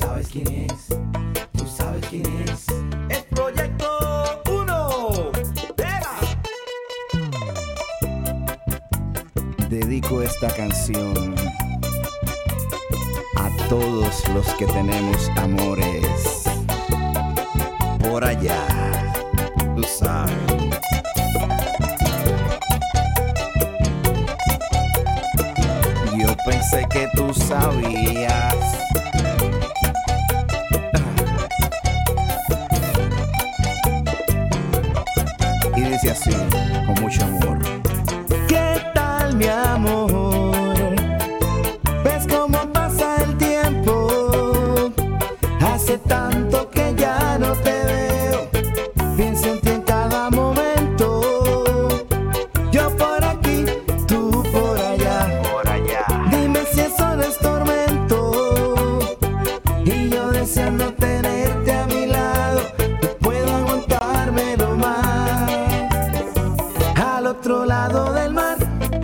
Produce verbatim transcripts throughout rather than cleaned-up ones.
sabes quién es, tú sabes quién es. Es Proyecto Uno. ¡Pega! Dedico esta canción a todos los que tenemos amores por allá, tú sabes. Yo pensé que tú sabías. Y dice así, con mucho amor. ¿Qué tal, mi amor? ¿Ves cómo pasa el tiempo? Hace tanto que ya no te veo. Pienso en ti en cada momento. Yo por aquí, tú por allá. Por allá. Dime si eso no es tormento. Y yo deseando tenerte a mi lado. No puedo aguantármelo más. Al otro lado del mar,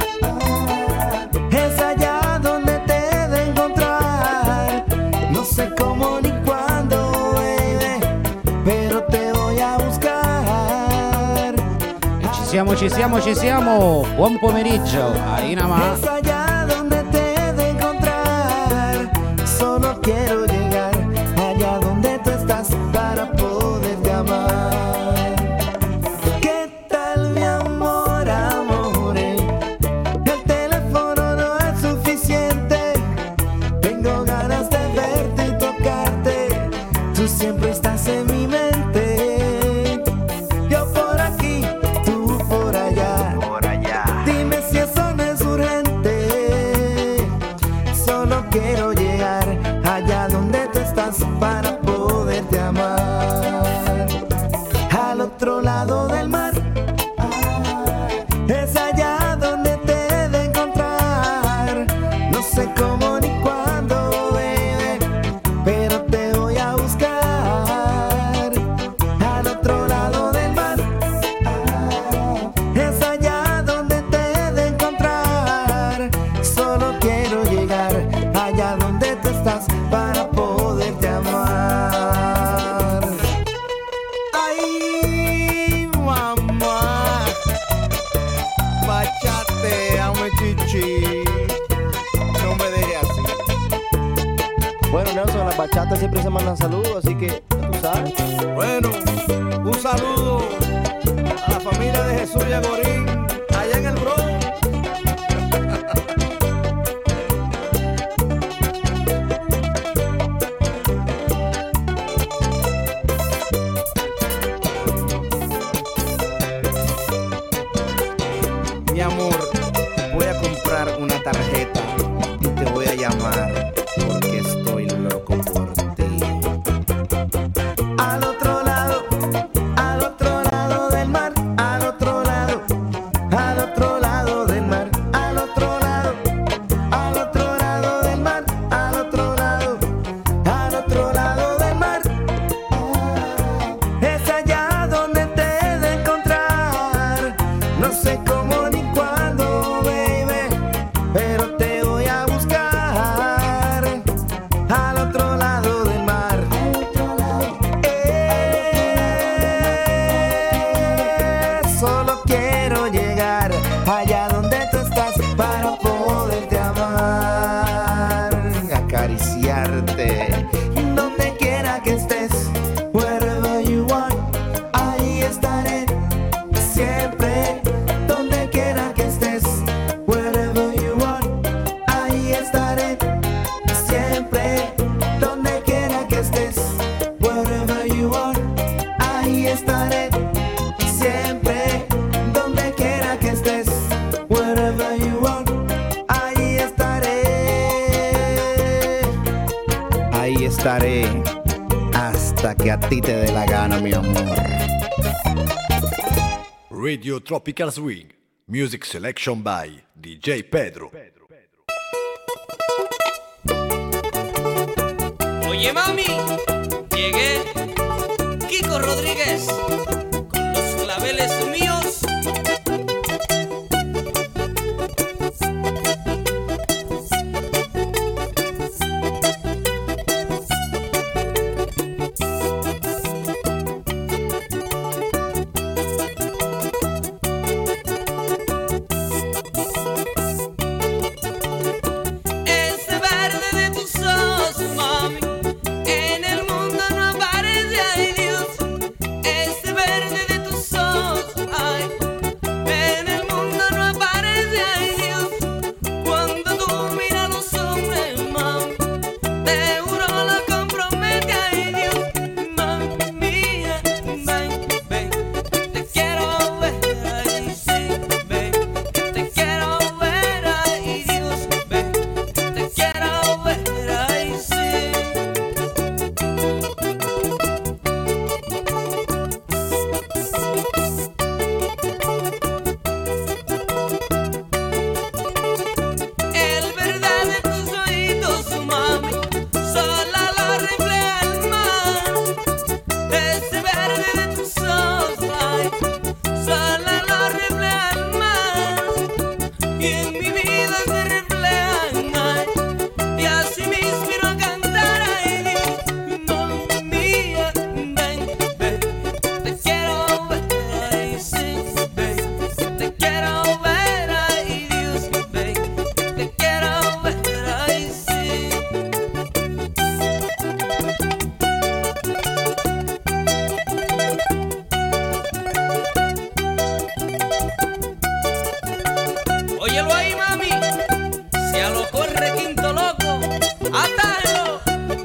es allá donde te he de encontrar. No sé cómo ni cuándo, baby, pero te voy a buscar. Ci siamo, ci siamo, ci siamo. Buon pomeriggio. Ahí nada más. Es allá donde te he de encontrar. Solo quiero llegar allá donde tú estás para poderte amar. ¿Qué tal, mi amor, amore? El teléfono no es suficiente. Tengo ganas de verte y tocarte. Tú siempre estás en mi mente. Yo por aquí, tú por allá. Por allá. Dime si eso no es urgente. Solo quiero llegar allá donde tú estás para poderte amar. Al otro lado del mar, es allá donde te he de encontrar. No sé cómo ni cuándo, baby, pero te voy a buscar. Al otro lado del mar, es allá donde te he de encontrar. Solo quiero llegar allá donde tú estás para poderte amar. Ay, mamá, bachateame, chichi. No me dejes así. Bueno, Nelson, las bachatas siempre se mandan saludos, así que ya tú sabes. Bueno, un saludo a la familia de Jesús y Agorín, allá en el Bronx. Mi amor, voy a comprar una tarjeta y te voy a llamar porque estoy loco por ti. Al otro lado, al otro lado del mar, al otro lado, al otro lado del mar, al otro lado, al otro lado del mar, al otro lado, al otro lado del mar. Es allá donde te he de encontrar. No sé cómo ni cuándo, baby, pero te voy a buscar. Al otro lado del mar. Eh, solo quiero llegar allá donde tú estás para poderte amar, acariciarte donde quiera que estés. Wherever you want, ahí estaré siempre. Donde quiera que estés. Wherever you want, ahí estaré siempre. Donde quiera que estés. Wherever you want, ahí estaré siempre. Donde quiera que estés. Wherever you want, ahí estaré. Ahí estaré hasta que a ti te dé la gana, mi amor. Radio Tropical Swing, music selection by D J Pedro. Oye mami, llegué, Kiko Rodríguez, con los claveles míos. y en mi vida se reflejan, ay, y así me inspiro a cantar, ay Dios, mamma mía, ven, ven, te quiero ver, ay sí, ven, te quiero ver, ay Dios, ven, te quiero ver, ay sí. Óyelo ahí, mami, si a lo corre quinto loco, ¡atalo!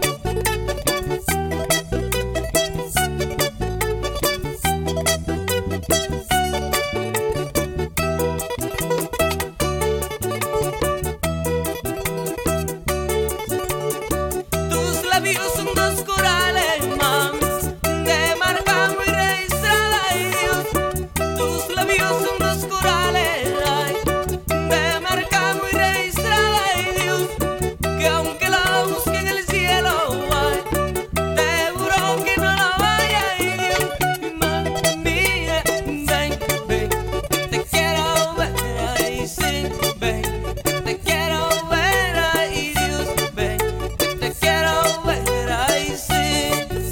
Tus labios son dos corales, mami, de marca muy registrada, ay Dios. Tus labios son dos corales, ay, de marca muy registrada, ay Dios, que aunque la busque en el cielo, ay, te juro que no la vaya, ay Dios, mamma mía, ven, ven, te quiero ver, ay sí, ven, te quiero ver, ay Dios, ven, te quiero ver, ay sí.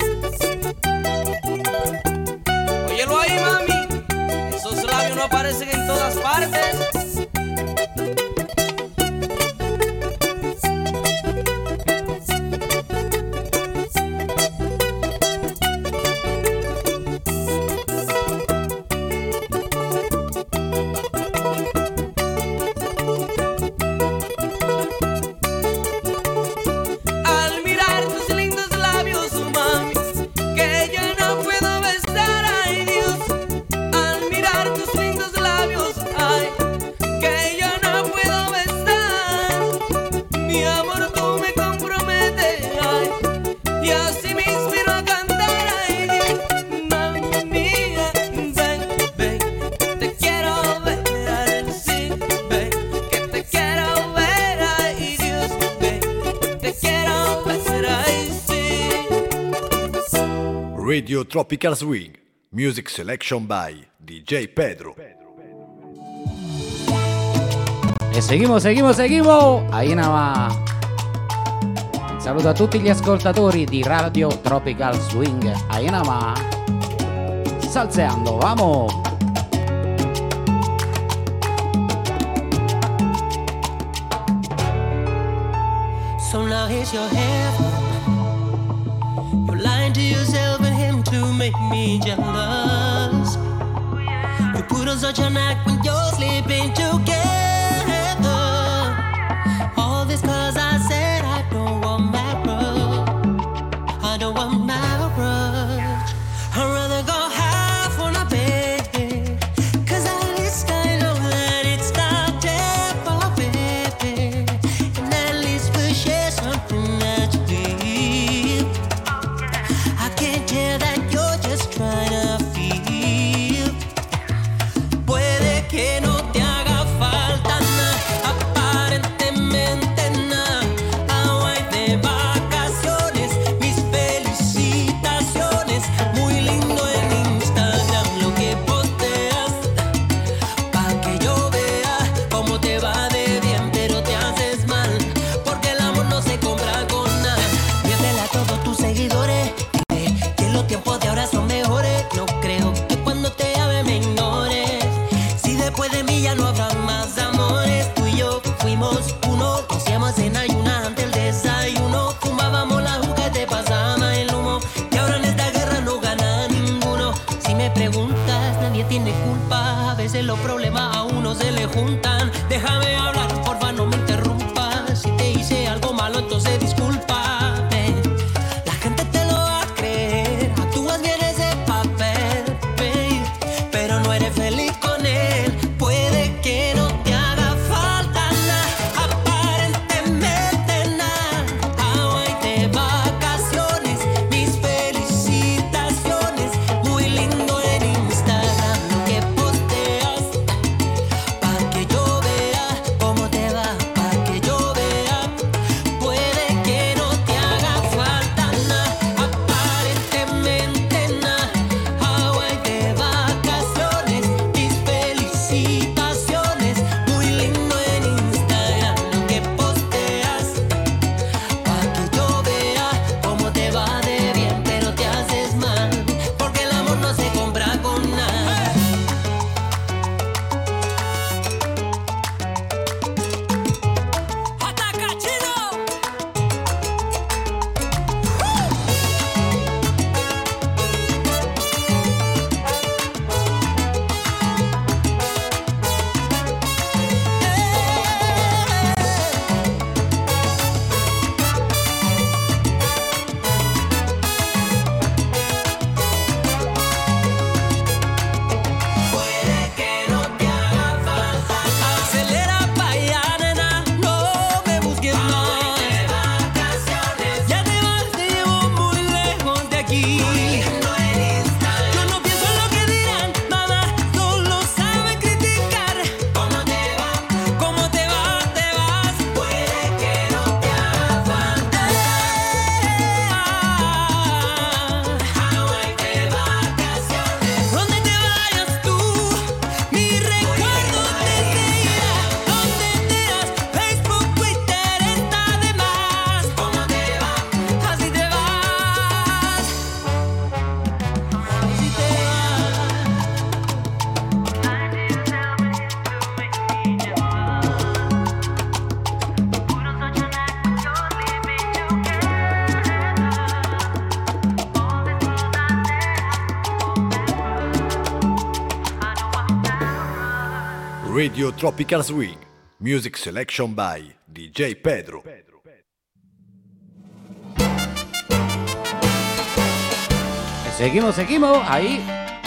Óyelo ahí, mami, esos labios no aparecen en todas partes. Al mirar tus lindos labios, mami, que yo no puedo besar, ay Dios. Al mirar tus lindos labios, ay, que yo no puedo besar. Mi amor, tú me comprometes, ay, y así me inspiro a cantar, ay Dios, mamma mía, ven, ven, te quiero ver, ay sí, ven, que te quiero ver, ay Dios, ven, te quiero ver, ay sí. Radio Tropical Swing, music selection by D J Pedro. E seguimos, seguimos, seguimos. Ahí nada más. Un saluto a tutti gli ascoltatori di Radio Tropical Swing. Ahí nada más. Salseando, vamos. So now here's your hand. You're lying to yourself and him to make me jealous. You put on such an act when you're sleeping together. All this cause I said I don't want marriage. I don't want marriage. I'd rather go half on a bed. Cause at least I know that it's not temporary. And at least we'll share something that you feel. I can't tell that you're just trying to feel. Puede que no te haga falta nada, aparentemente nada. Hawaii de vacaciones, mis felicitaciones. Muy lindo en Instagram lo que posteas, pa' que yo vea cómo te va de bien, pero te haces mal, porque el amor no se compra con nada. Miéntele a todos tus seguidores, dile que los tiempos de ahora son mejores. No creo que cuando te llame me ignores. Si después de mí ya no habrá más amores. Tú y yo fuimos uno, nos hacíamos en ayunas antes del desayuno. Fumábamos la juca y te pasaba el humo. Y ahora en esta guerra no gana ninguno. Si me preguntas, nadie tiene culpa. A veces los problemas a uno se le juntan. Déjame hablar, porfa, no me interrumpas. Si te hice algo malo, entonces discúlpame. La gente te lo va a creer. Actúas bien ese papel, babe, pero no eres feliz con él. Puede que no te haga falta nada, aparentemente nada. Hawaii de vacaciones, mis felicitaciones. Muy lindo en Instagram lo que posteas, pa' que yo vea cómo te va, pa' que yo vea. Puede que no te haga falta nada, aparentemente nada. Hawaii de vacaciones, mis felicitaciones. Muy lindo Radio Tropical Swing, music selection by D J Pedro. Seguimos, seguimos, ahí.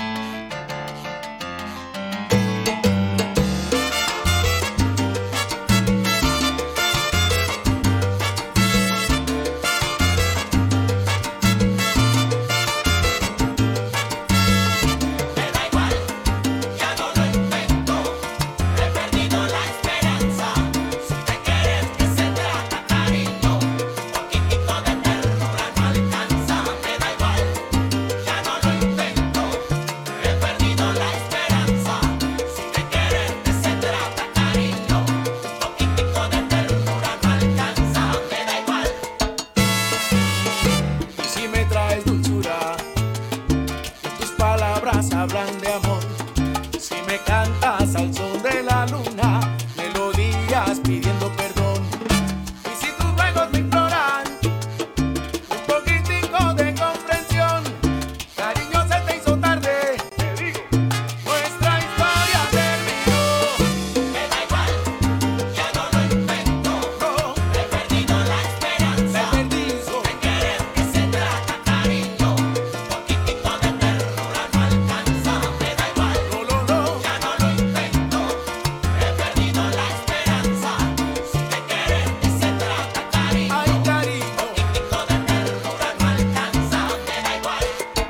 Hablan de amor, si me cantas al son de la luna, melodías pidiendo perdón. Y si tus juegos me imploran un poquitico de comprensión, cariño, se te hizo tarde, te digo, nuestra historia terminó. Me da igual, ya no lo invento, no, he perdido la esperanza, he perdido de querer que se trata, cariño, poquitico de ternura no alcanza. Me da igual, no, no, no, ya no lo invento, he perdido la esperanza, si de querer que se trata, cariño, ay, cariño, poquitico de ternura no alcanza. Me da igual.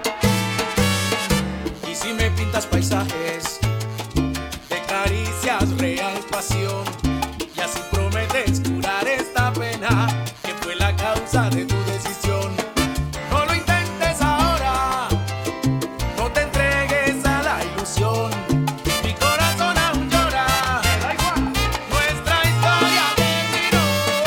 Y si me pintas paisajes de caricias, real pasión, y así prometes curar esta pena que fue la causa de tu decisión, no lo intentes ahora, no te entregues a la ilusión, mi corazón aún llora, me da igual, nuestra historia terminó.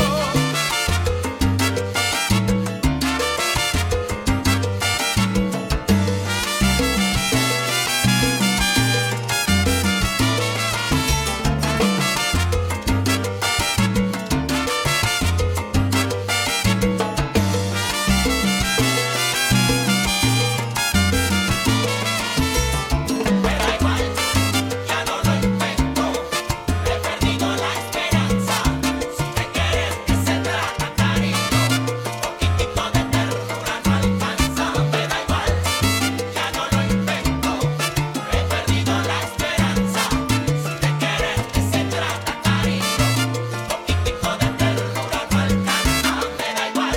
Me da igual, ya no lo invento, he perdido la esperanza, si de querer que se trata, cariño, poquitico de ternura no alcanza. Me da igual, ya no lo invento, he perdido la esperanza, si de querer que se trata, cariño, poquitico de ternura no alcanza. Me da igual.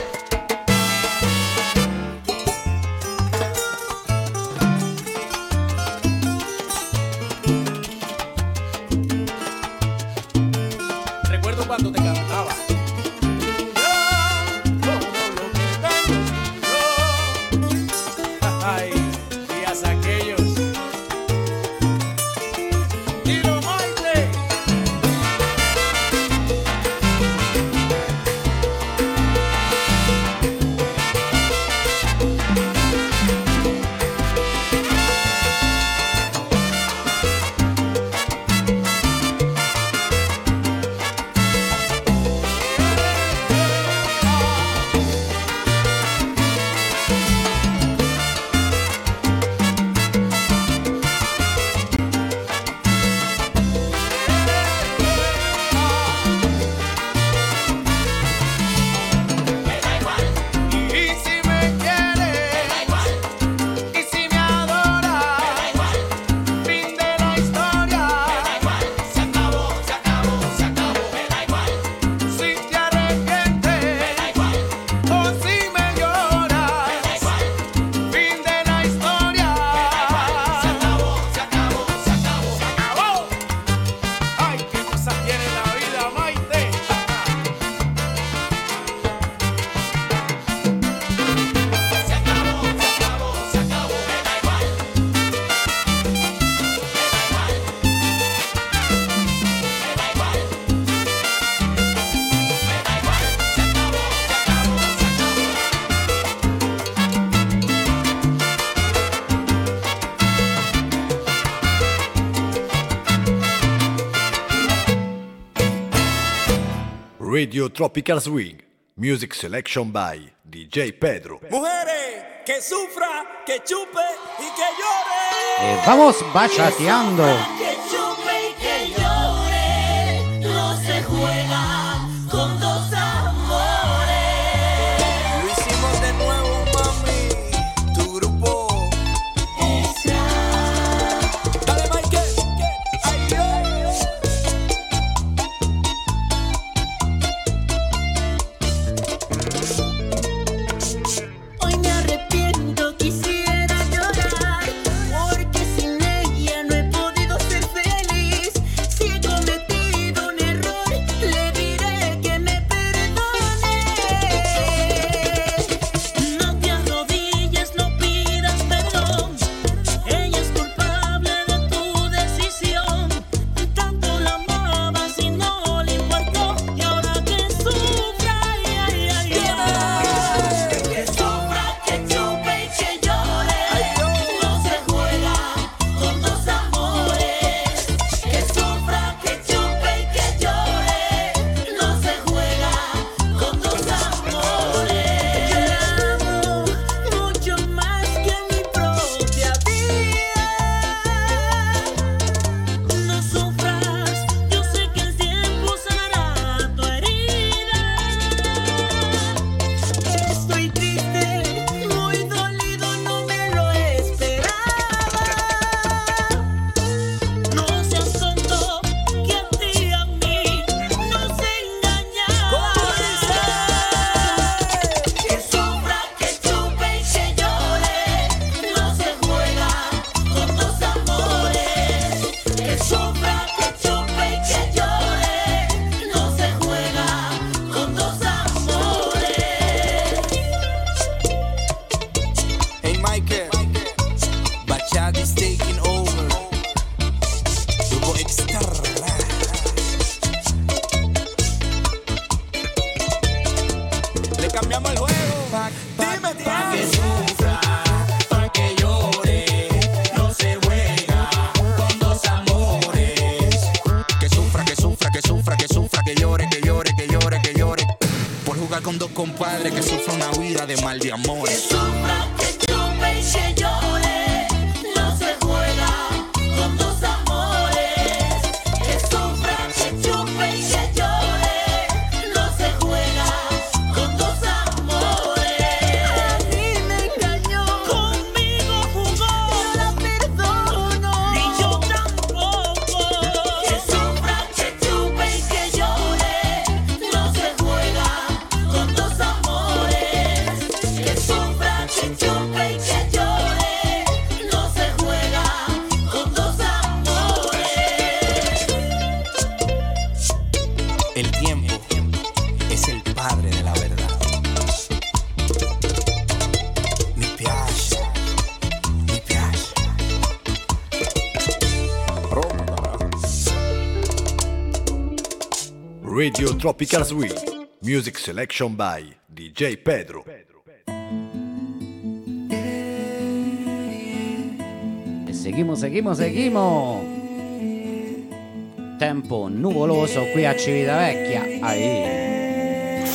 Recuerdo cuando te cantaba. Yo, todo lo que tengo es yo. Ay, días aquellos. Tiro Maite. Me da igual. Y si me quieres, me da igual. Y si me adoras, me da igual. Fin de la historia, me da igual. Se acabó, se acabó, se acabó, me da igual. Si te arrepientes, me da igual. O si me lloras, me da igual. Fin de la historia, me da igual. Se acabó, se acabó, se acabó, se acabó. Ay, qué cosas tiene la vida, Maite. Se acabó, se acabó, se acabó, me da igual. Me da igual. Me da igual. Me da igual. Se acabó, se acabó, se acabó. Radio Tropical Swing, music selection by D J Pedro. Mujeres, que sufra, que chupe y que llore. Eh, vamos bachateando. Que chupe y que llore. con dos compadres que sufren una vida de mal de amor. Que sufra, que chupe y que llore, no se juega con dos amores. Que sufra, que chupe y que llore, no se juega con dos amores. A mí me engañó, conmigo jugó, yo la perdono, y yo tampoco. Que sufra, que chupe y que llore, no se juega con dos amores. Que sufra, que chupe y que llore, no se juega con dos amores. El tiempo es el padre de la verdad. Mi piace, mi piace. Radio Tropical Swing. Music selection by D J Pedro. E seguimos, seguimos, seguimos. Tempo nuvoloso qui a Civitavecchia. Ahí.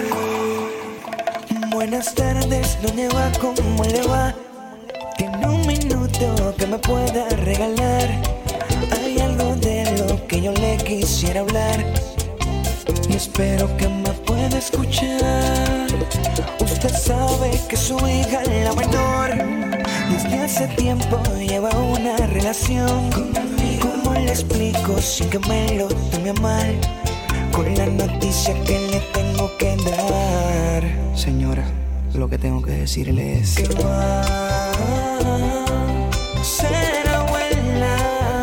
Buenas tardes, doña Eva, ¿cómo le va? Tiene un minuto que me pueda regalar. Hay algo de lo que yo le quisiera hablar y espero que me pueda escuchar. Usted sabe que su hija, la menor, desde hace tiempo lleva una relación. ¿Cómo le explico sin que me lo tome a mal? Con la noticia que le tengo que dar. Señora, lo que tengo que decirle es que va a ser abuela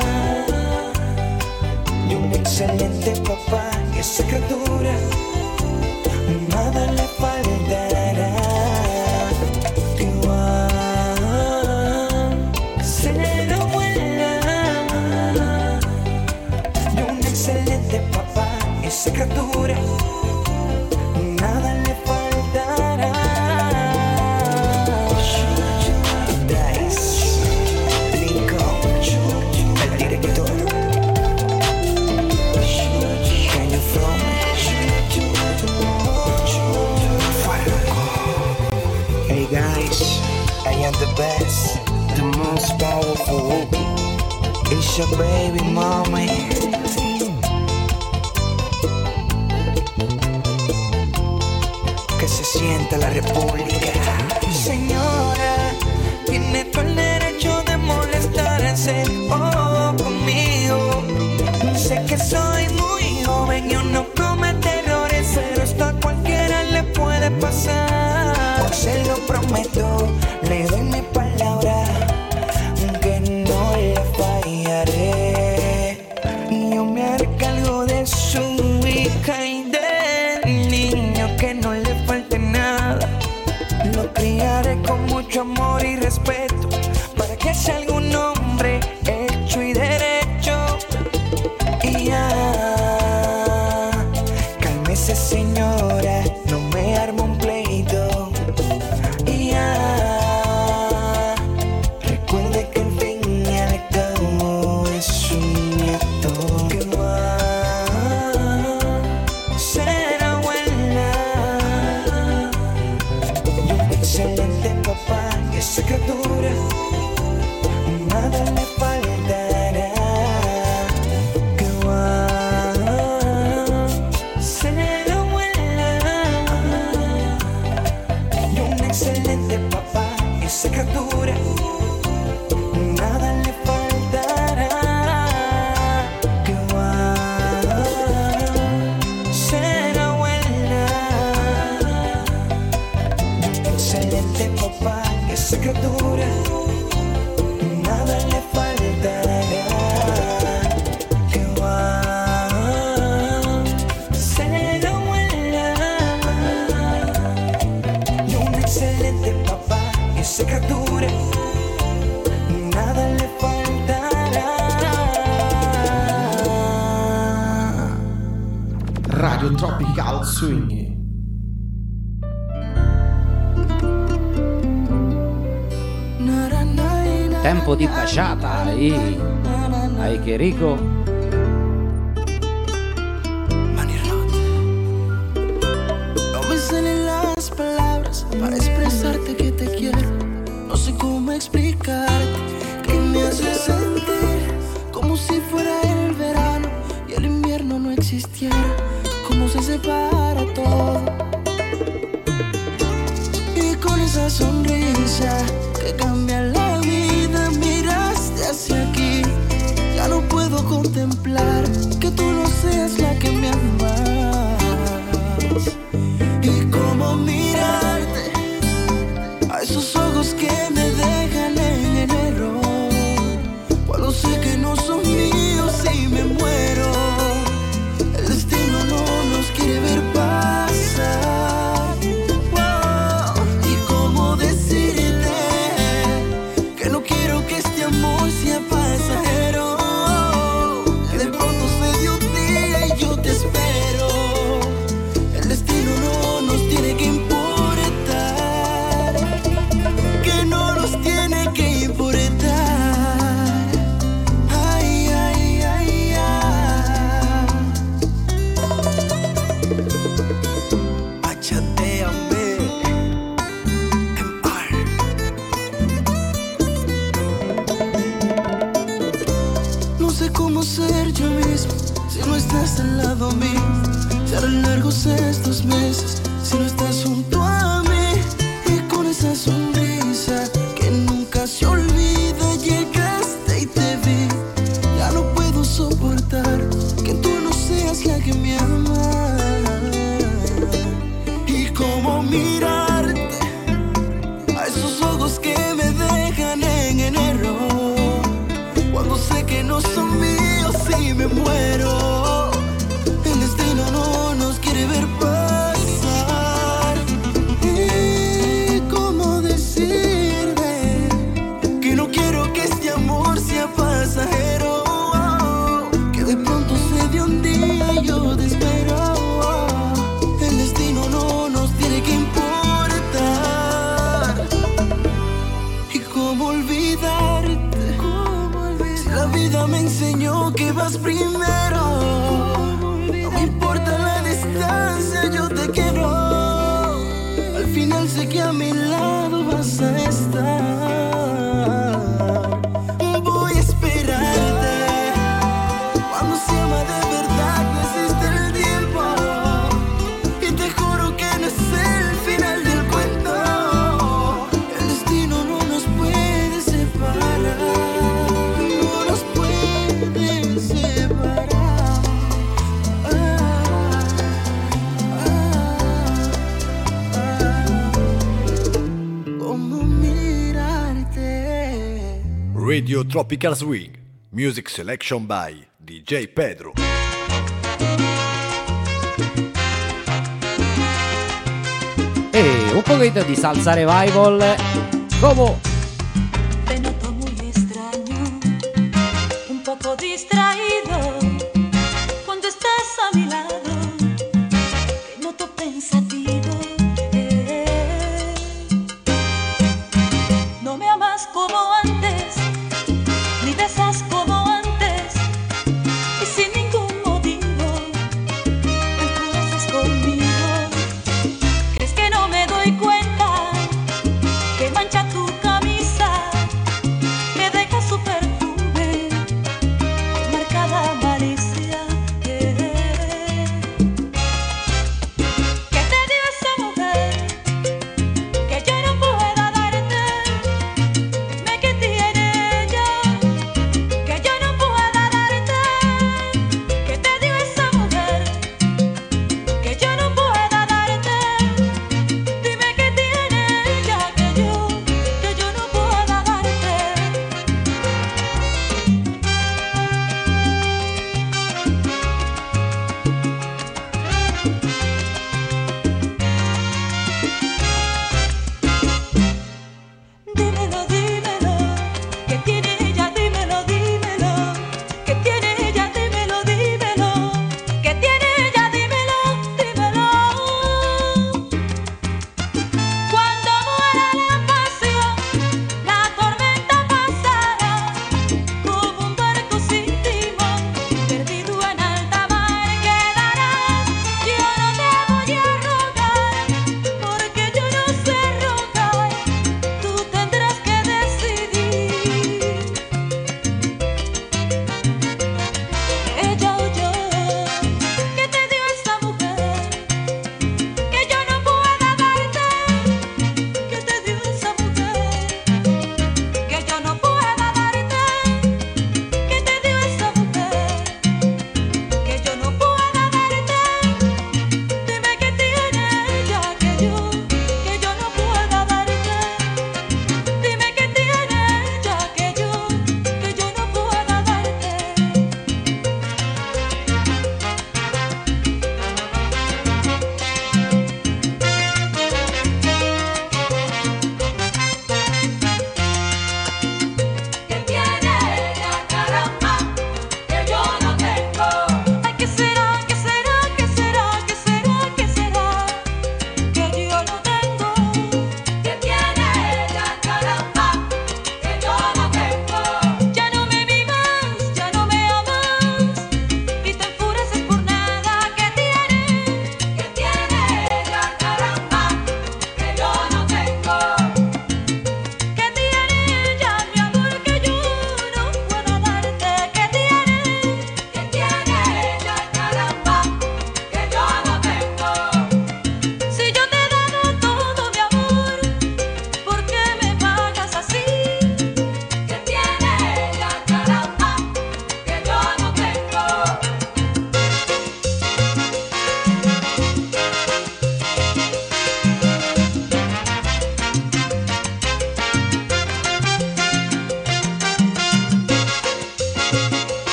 y un excelente papá. Y esa criatura nada le faltará. Que va a ser abuela y un excelente papá. Y esa criatura nada le faltará. Dice Lincoln, el director. Can you throw me? Hey guys, I am the best, the most powerful. It's your baby mommy. Que se sienta la república. Señora, tiene todo el derecho de molestarse oh, conmigo. Sé que soy muy joven y uno comete errores, pero esto a cualquiera le puede pasar. Hoy se lo prometo, le doy mi palabra, que no le fallaré. Yo me haré cargo de su hija y del niño, que no le falte nada. Lo criaré con mucho amor y respeto, para que sea algún hombre hecho y derecho. Y ya, cálmese señora, no me arme un pleito. Y ya, recuerde que el fin y al cabo es un nieto. Que va a ser abuela y un excelente papá. Y esa criatura nada le faltará. Que va a ser abuela y un excelente papá. Y esa criatura nada le faltará. Que va a ser abuela y un excelente papá. Y esa criatura nada le faltará. Que va a ser abuela y un excelente papá. Y esa criatura nada le faltará. Radio Tropical Swing. Tempo di baciata. Ahí. Ahí che rico. Mani rotte. Come salen las palabras para expresarte que te quiero. No sé cómo explicarte que me hace sentir como si fuera el verano y el invierno no existiera. Cómo se separa todo. Y con esa sonrisa que cambia la vida, miraste hacia aquí. Ya no puedo contemplar que tú no seas la que me amas. Y cómo mirarte a esos ojos que me dejan en el error, cuando sé que no son míos y me muero. El destino no nos quiere ver pasar. Wow. Y cómo decirte que no quiero que este amor sea pasajero. Que de pronto se dio un día y yo te espero. El destino no nos tiene que importar, que no nos tiene que importar. Ay, ay, ay, ay. Bachateame, M R. No sé cómo ser yo mismo si no estás al lado mío. Se harán largos estos meses si no estás junto a mí. Y con esa sonrisa que nunca se olvida, llegaste y te vi. Ya no puedo soportar que tú no seas la que me ama. Y cómo mirarte a esos ojos que me dejan en el error, cuando sé que no son míos y me muero. El destino no nos quiere ver pasar. Y cómo decirte que no quiero que este amor sea pasajero. Que de pronto se dio un día y yo te espero. El destino no nos tiene que importar. Y cómo olvidarte, si la vida me enseñó que vas primero. No me importa la distancia, yo te quiero. Al final sé que a mi lado vas a estar. Voy a esperarte. Cuando se ama de verdad no existe el tiempo. Y te juro que no es el final del cuento. El destino no nos puede separar. No nos puede separar. Cómo mirarte. Radio Tropical Swing, music selection by D J Pedro. E un poquito di salsa revival. Como Te noto muy extraño, un poco distraído cuando estás a mi lado. Te noto pensativo. eh. No me amas como antes, ni besas como antes, y sin ningún motivo enfureces conmigo. ¿Crees que no me doy cuenta que mancha tu camino?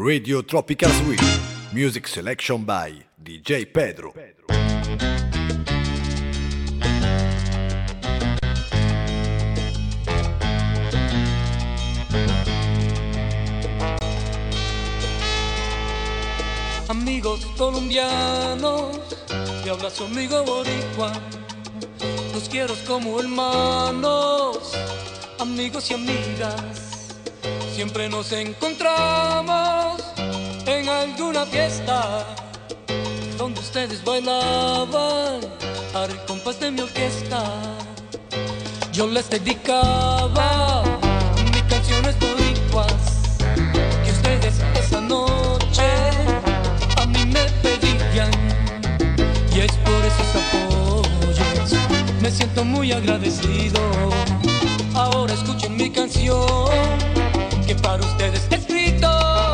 Radio Tropical Swing, music selection by D J Pedro. Amigos colombianos, te habla su amigo boricua. Los quiero como hermanos, amigos y amigas. Siempre nos encontramos en alguna fiesta donde ustedes bailaban al compás de mi orquesta. Yo les dedicaba mis canciones boricuas que ustedes esa noche a mí me pedían, y es por esos apoyos me siento muy agradecido. Ahora escuchen mi canción que para ustedes he escrito,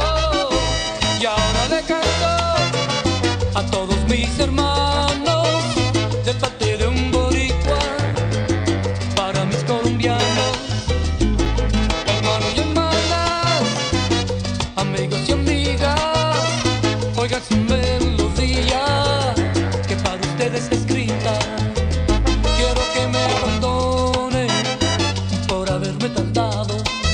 y ahora le canto a todos mis hermanos de parte de un boricua para mis colombianos, hermanos y hermanas, amigos y amigas. Oigan su melodía que para ustedes he escrita. Quiero que me perdonen por haberme tardado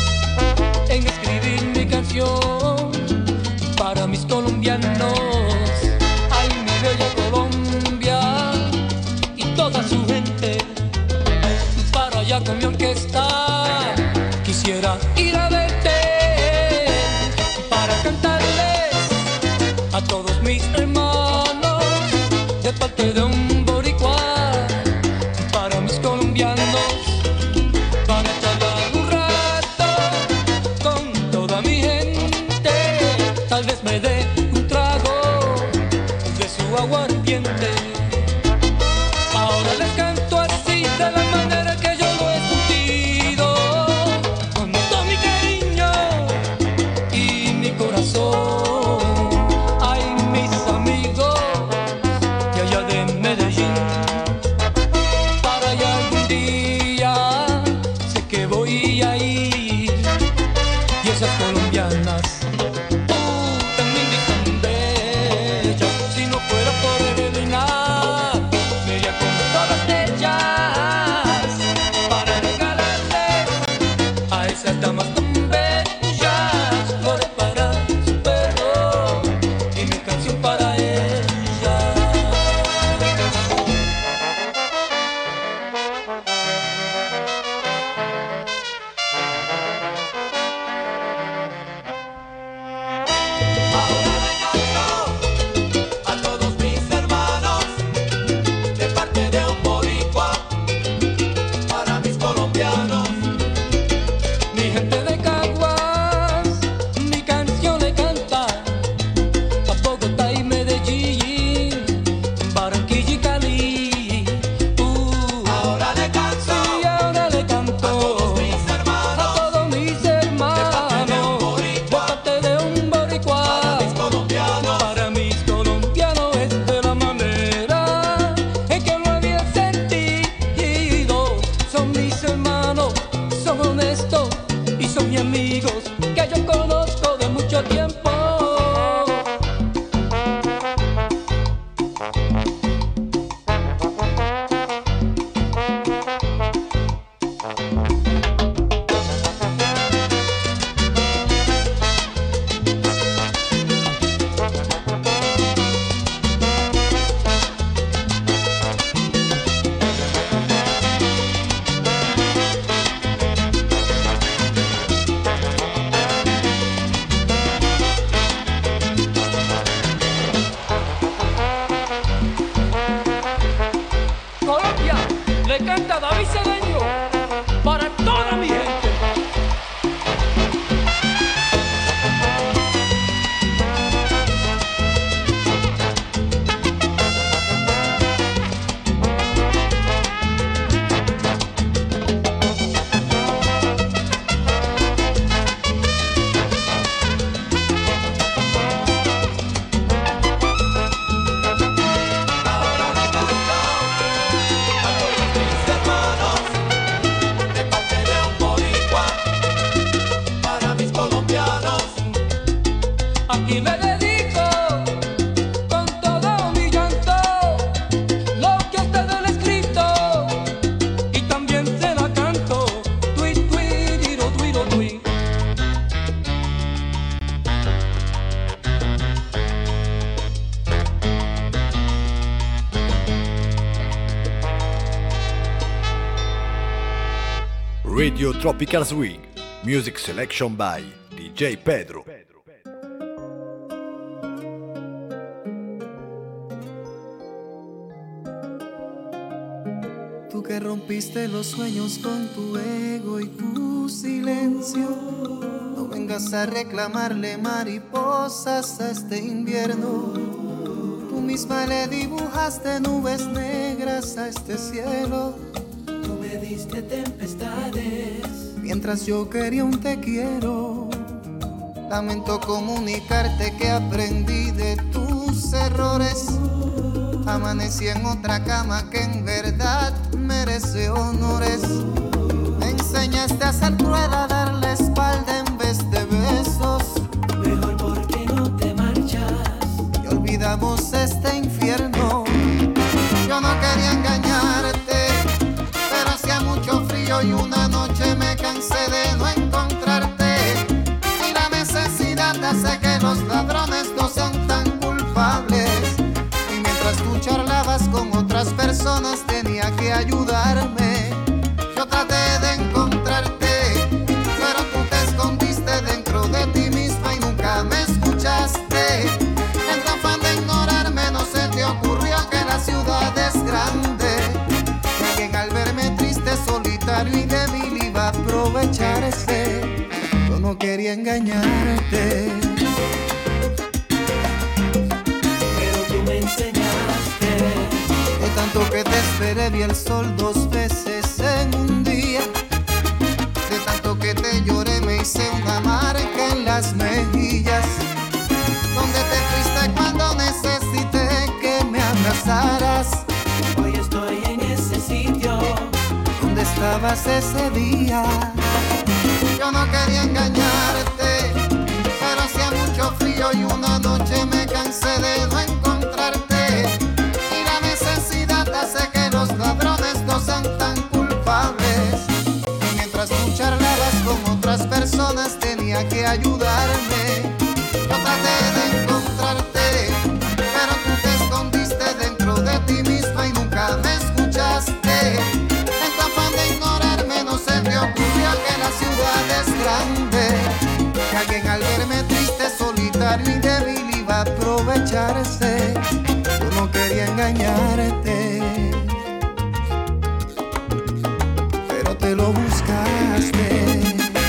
en escribir mi canción para mis colombianos. Ay, mi bella Colombia y toda su gente, para allá con mi orquesta quisiera ir a verte para cantarles a todos mis hermanos de parte de un boricua para mis colombianos, para charlar un rato con toda mi gente. Tal vez me dé un trago de su aguardiente. Ahora les canto así, de la manera que yo lo he sentido, con todo mi cariño y mi corazón. Ay, mis amigos de allá de Medellín, para allá algún día sé que voy a ir, y esas colombianas también dicen bellas. Si no fuera por Evelina, me iría con todas ellas para regalarles a esas damas tan bellas flores para su perro y mi canción para ellas. A todos mis hermanos de parte de un boricua para mis colombianos. Mi gente de Caguas, mi canción le canta a Bogotá y Medellín, Barranquilla y Cali. Uh, Ahora le canto y ahora le canto a todos mis a hermanos todos mis hermanos de parte de un boricua de parte de un boricua para mis colombianos. para mis colombianos. Es de la manera en que lo había sentido. Son mis hermanos, son honestos y son mis amigos que yo conozco de mucho tiempo. Radio Tropical Swing, music selection by D J Pedro. Tú que rompiste los sueños con tu ego y tu silencio, no vengas a reclamarle mariposas a este invierno. Tú misma le dibujaste nubes negras a este cielo. Tú me diste tempestades mientras yo quería un te quiero. Lamento comunicarte que aprendí de tus errores. Amanecí en otra cama que en verdad merece honores. Me enseñaste a ser cruel, a darle espalda en vez de besos. Mejor porque no te marchas y olvidamos este infierno. Yo no quería engañarte, pero hacía mucho frío y una noche me cansé de no encontrarte. Y la necesidad hace que los ladrones no sean tan culpables. Y mientras tú charlabas con otras personas tenía que ayudarme. Yo traté de encontrarte, pero tú te escondiste dentro de ti misma y nunca me escuchaste. En tu afán de ignorarme no se te ocurrió que la ciudad es grande. Y alguien al verme triste, solitario y débil iba a aprovecharse. Yo no quería engañarte, pero tú me enseñaste. De tanto que te esperé vi el sol dos veces en un día. De tanto que te lloré me hice una marca en las mejillas. Donde te fuiste cuando necesité que me abrazaras. Hoy estoy en ese sitio donde estabas ese día. Yo no quería engañarte, pero hacía mucho frío y una noche me cansé de no encontrarte. Y la necesidad hace que los ladrones no sean tan culpables. Y mientras tú charlabas con otras personas tenía que ayudarme. Yo traté de encontrarte, pero tú te escondiste dentro de ti misma y nunca me escuchaste. En tu afán de ignorarme no se te ocurrió que la ciudad es grande. Que alguien al verme triste, solitario y débil iba a aprovecharse. Yo no quería engañarte, pero te lo buscaste.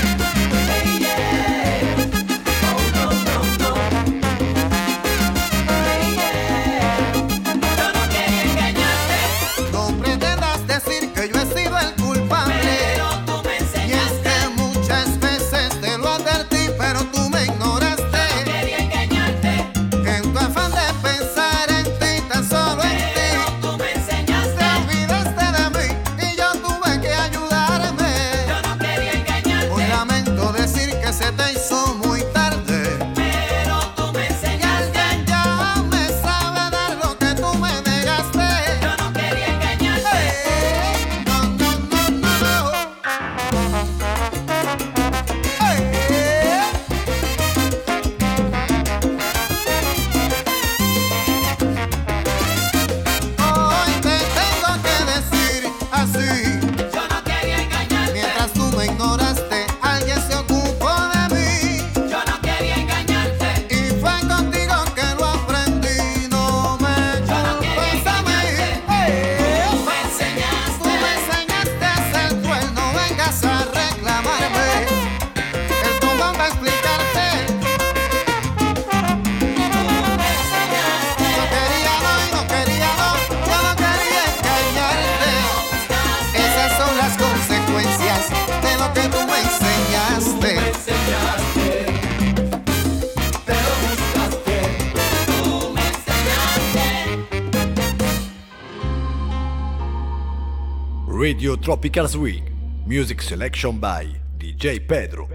Radio Tropical Swing, music selection by D J Pedro.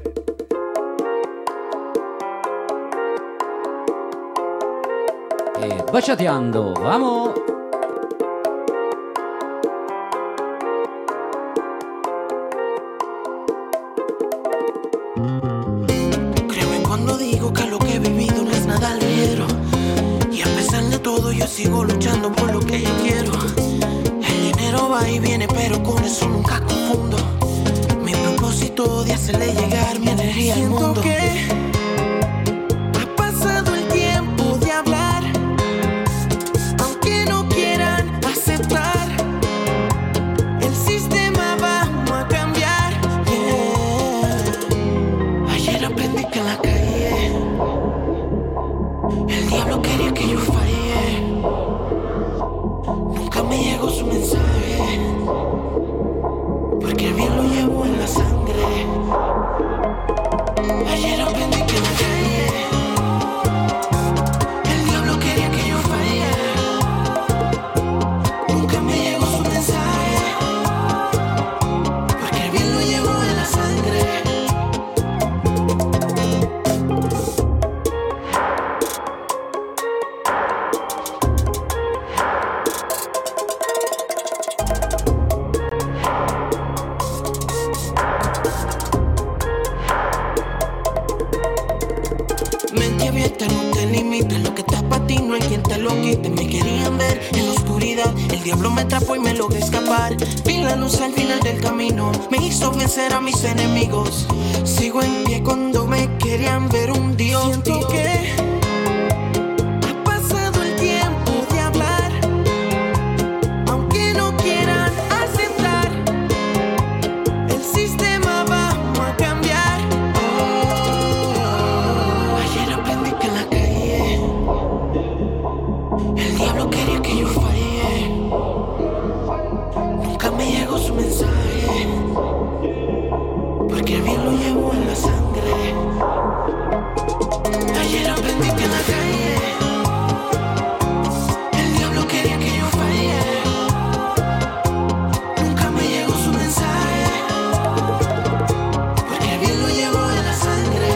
E baciateando, vamos! Creo en cuando digo que lo que he vivido no es nada ligero. Y a pesar de todo yo sigo luchando por lo que yo quiero. El dinero va y viene pero con eso nunca confundo. de hacerle llegar mi energía al Siento mundo. que ha pasado el tiempo de hablar, aunque no quieran aceptar. El sistema vamos a cambiar. Yeah. Ayer aprendí que en la calle el diablo quería que yo fallé. Nunca me llegó su mensaje, porque el bien lo llevo en la sangre. Ayer aprendí que en la calle el diablo quería que yo falle. Nunca me llegó su mensaje, porque el bien lo llevo en la sangre. Mente abierta, no te limites. Lo que está para ti no hay quien te lo quite. Me querían ver en la oscuridad, el diablo me atrapó y me logré escapar. Vi la luz al final del camino, me hizo vencer a mis enemigos. Sigo en pie cuando me querían ver un dios. Siento que ha pasado el tiempo de hablar, aunque no quieran aceptar. El sistema vamos a cambiar. Ayer aprendí que en la calle el diablo quería que yo falle. Nunca me llegó su mensaje, porque el bien lo llevo en la sangre. Ayer aprendí que en la calle el diablo quería que yo falle. Nunca me llegó su mensaje, porque el bien lo llevo en la sangre.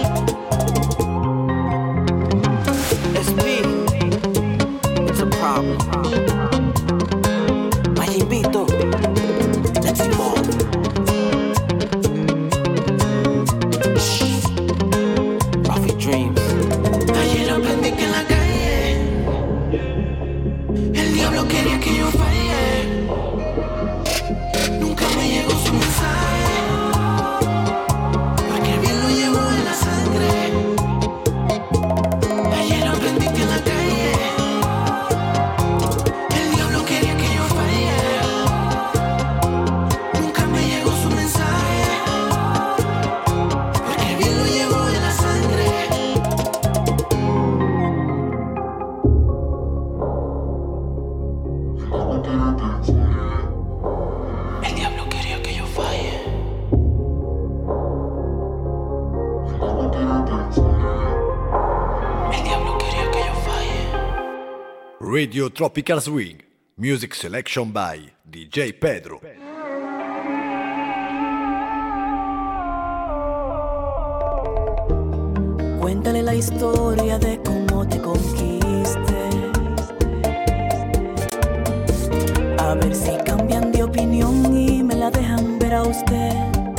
S P, it's a problem. Mayimito, let's evolve. Rafi Dreams. Ayer aprendí que en la calle el diablo quería que yo falle. Nunca me llegó su mensaje, porque el bien lo llevo en la sangre. Ayer aprendí que en la calle el diablo quería que yo falle. Nunca me llegó su mensaje, porque el bien lo llevo en la sangre. El diablo quería que yo falle. El diablo quería que yo falle. Radio Tropical Swing, music selection by D J Pedro. Cuéntale la historia de cómo te conquisté. A ver si cambian de opinión y me la dejan ver a usted.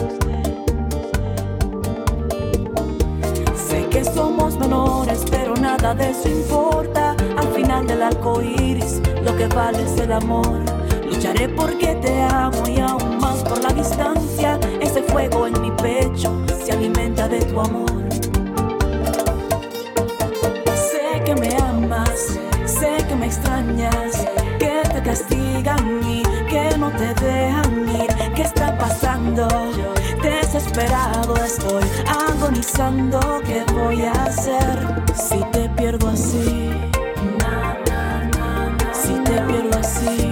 Sé que somos menores, pero nada de eso importa. Al final del arco iris, lo que vale es el amor. Lucharé porque te amo y aún más por la distancia. Ese fuego en mi pecho se alimenta de tu amor. Sé que me amas, sé que me extrañas, que te castigan y que no te dejan ir. ¿Qué está pasando? Desesperado estoy, agonizando. ¿Qué voy a hacer si te pierdo así? Si te pierdo así,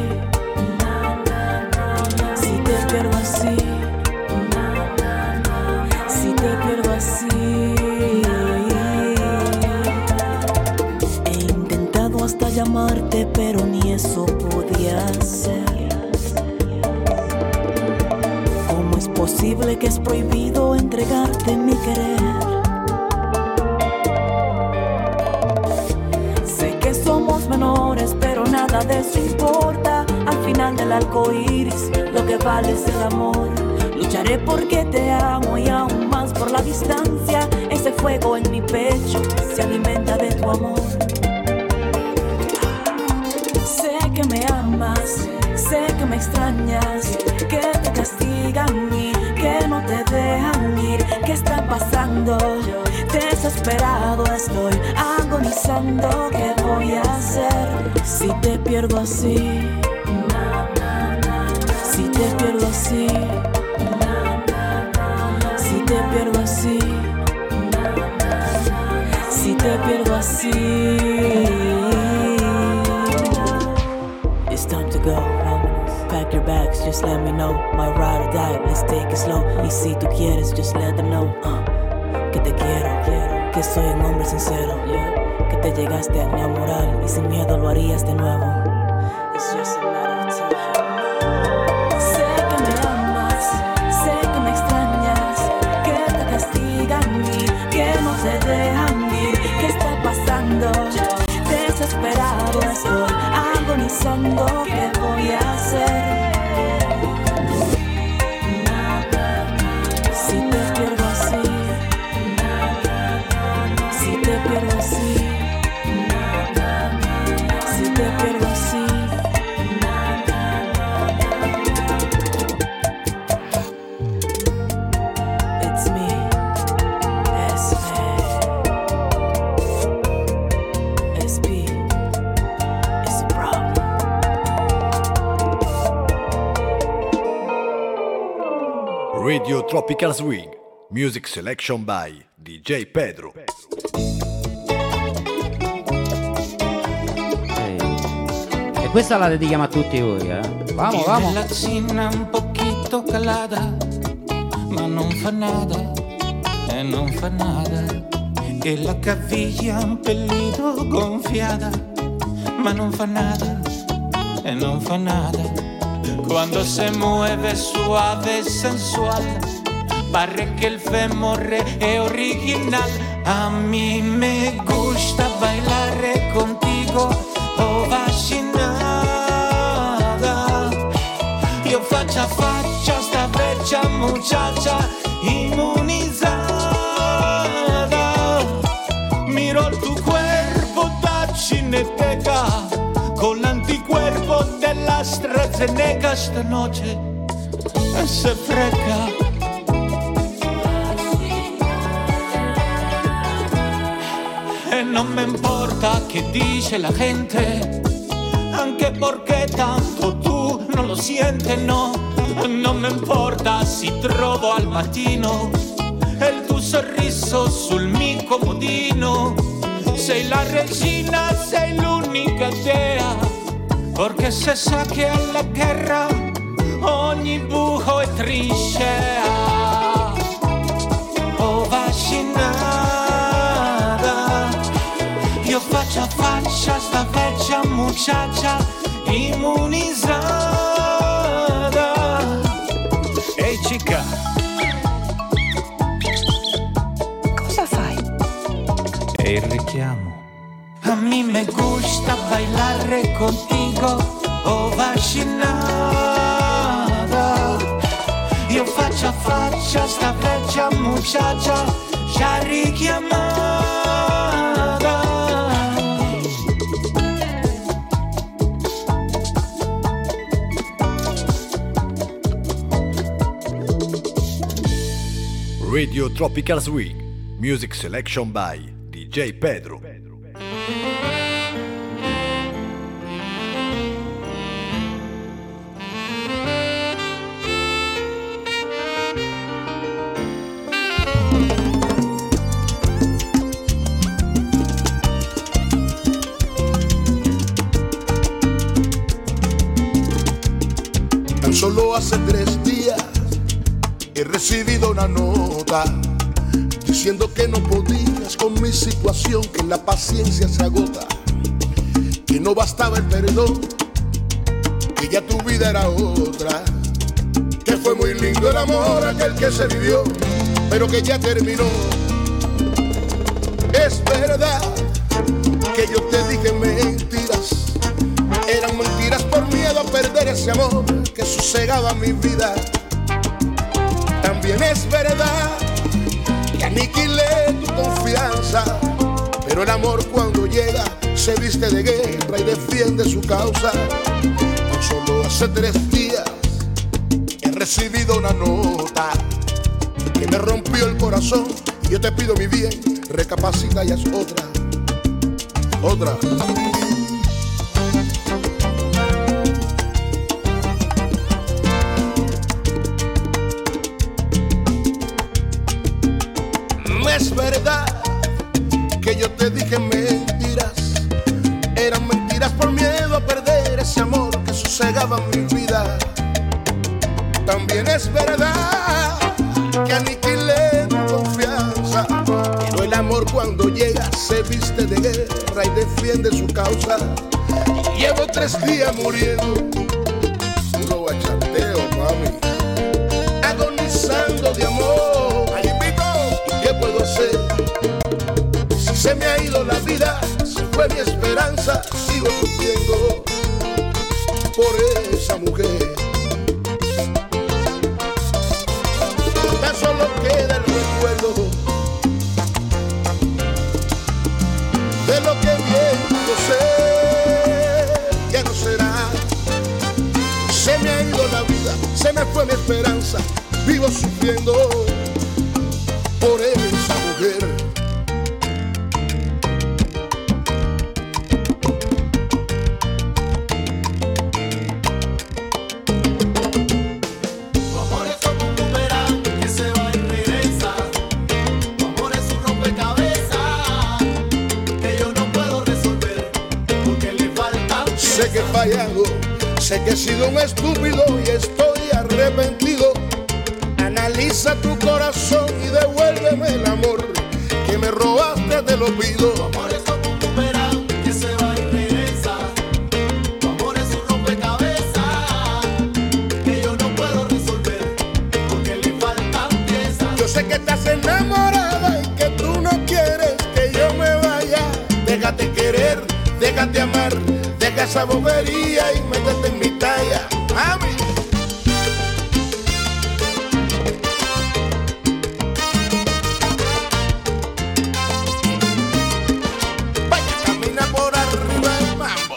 si te pierdo así, si te pierdo así. He intentado hasta llamarte, pero ni eso podía hacer. ¿Cómo es posible que es prohibido entregarte mi querer? Sé que somos menores, pero nada de eso importa. Al final del arco iris, lo que vale es el amor. Lucharé porque te amo y aún más por la distancia. Ese fuego en mi pecho se alimenta de tu amor. Sé que me amas, sé que me extrañas, que te castigan y que no te dejan ¿qué está pasando? Desesperado estoy, agonizando, ¿qué voy a hacer? Si te pierdo así, si te pierdo así, si te pierdo así, si te pierdo así. It's time to go. Pack your bags, just let me know. My ride or die, let's take it slow. Y si tú quieres, just let them know uh, que te quiero, quiero, que soy un hombre sincero, yeah. Que te llegaste a enamorar y sin miedo lo harías de nuevo. It's just a matter of time. Sé que me amas, sé que me extrañas, que te castigan y que no te dejan ir. ¿Qué está pasando? Desesperado estoy, agonizando, ¿qué voy a hacer? Si te pierdo así, si te pierdo así, si te pierdo así. It's me, S A S P. Radio Tropical Swing, music selection by D J Pedro. E questa la dedichiamo a tutti voi, eh? Vamos, vamos. La cena un poquito calada, ma non fa nada, e non fa nada. E la caviglia un pelito gonfiada, ma non fa nada, e non fa nada. Cuando se mueve suave y sensual, parece que el fémur es original. A mí me gusta bailar contigo, oh vacinada. Yo faccia a faccia esta bella muchacha inmunizada. Miro tu cuerpo da cineteca con l'anticuerpo dell'AstraZeneca. Esta noche se freca. E non me importa che dice la gente, anche perché tanto tu non lo sientes, no. Non me importa si trovo al mattino il tuo sorriso sul mio comodino. Sei la regina, sei l'unica dea, perché se sa che alla guerra ogni buco è trincea. Oh vacinada, io faccia a faccia sta vecchia muchacha immunizzata. Ehi chica, cosa fai? È il richiamo. A mí me gusta bailar contigo, oh vacinada. Io faccia a faccia sta vecchia muchacha già richiamata. Radio Tropical Swing, music selection by D J Pedro. Solo hace tres días he recibido una nota diciendo que no podías con mi situación, que la paciencia se agota, que no bastaba el perdón, que ya tu vida era otra, que fue muy lindo el amor aquel que se vivió, pero que ya terminó. Es verdad que yo te dije mentiras, eran mentiras por miedo a perder ese amor que sosegaba mi vida. También es verdad que aniquilé tu confianza, pero el amor cuando llega se viste de guerra y defiende su causa. Tan solo hace tres días he recibido una nota que me rompió el corazón. corazón y yo te pido mi bien, recapacita y haz otra, otra. No es verdad que yo te dije mentiras, eran mentiras por miedo a perder ese amor que sosegaba mi vida. También es verdad que aniquilé tu confianza, pero el amor cuando llega se viste de guerra y defiende su causa. Y llevo tres días muriendo, puro bachateo, mami, agonizando de amor. Ay, invito, ¿y qué puedo hacer? Si se me ha ido la vida, si fue mi esperanza, sigo sufriendo por esa mujer. Tan solo queda el recuerdo de lo que viendo sé, ya no será. Se me ha ido la vida, se me fue mi esperanza, vivo sufriendo por esa mujer. Sé que he fallado, sé que he sido un estúpido y estoy arrepentido. Analiza tu corazón y devuélveme el amor que me robaste, te lo pido. Tu amor es como un boomerang que se va y regresa. Tu amor es un rompecabezas que yo no puedo resolver porque le faltan piezas. Yo sé que estás enamorada y que tú no quieres que yo me vaya. Déjate querer, déjate amar. Deja esa bobería y métete en mi talla, mami. Vaya, camina por arriba del mambo.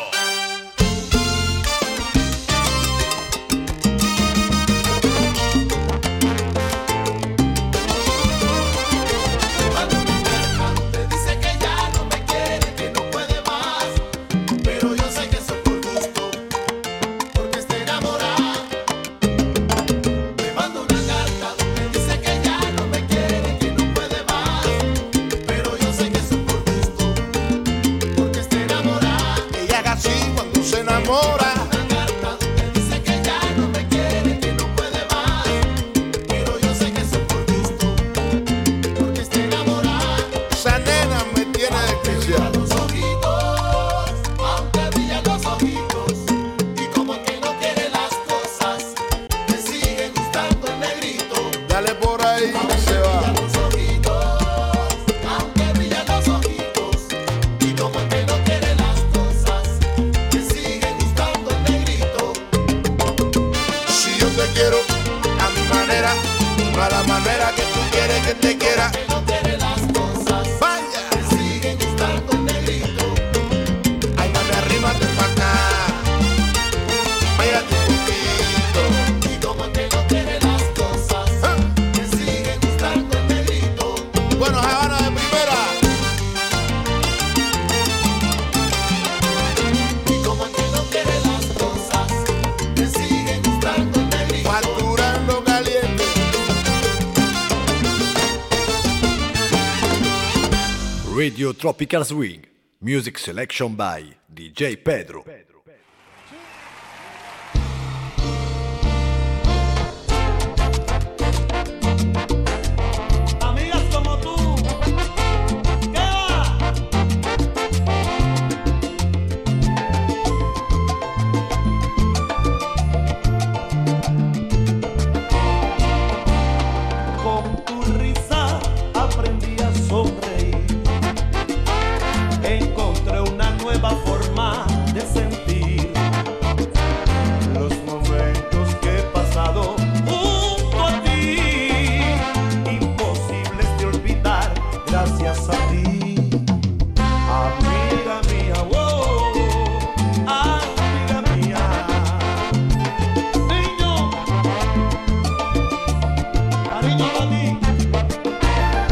Te dice que ya no me quiere, que no puede más, pero yo sé que eso por gusto, porque está enamorada. Me manda una carta donde dice que ya no me quiere, que no puede más, pero yo sé que eso por gusto, porque está enamorada. Ella haga así cuando se enamora. Una carta donde dice que ya no me quiere, que no puede más, pero yo sé que eso por gusto, porque está enamorada. Esa nena me tiene desquiciado. Los ojitos, aunque brillan los ojitos, y como que no quiere las cosas, me sigue gustando el negrito. Dale por ahí que se va. Los ojitos, aunque brillan los ojitos, y como que no quiere las cosas, me sigue gustando el negrito. Si yo te quiero a mi manera, no a la manera que tú quieres que te quiera. No quiere las cosas, vaya, me sigue gustando el negrito. Ay, mami, arrímate pa' acá, pégate un poquito. Y como que no quiere las cosas, me sigue gustando el negrito. Bueno, Habana de primera. Y como que no quiere las cosas, me sigue gustando el negrito. Facturando caliente. Radio Tropical Swing, music selection by D J Pedro. Amigas como tú, ¿qué va? Con tu risa aprendí a sonreír. Encontré una nueva forma de sentir los momentos que he pasado junto a ti, imposibles de olvidar gracias a ti, amiga mía, wow, amiga mía. Niño, cariño para ti.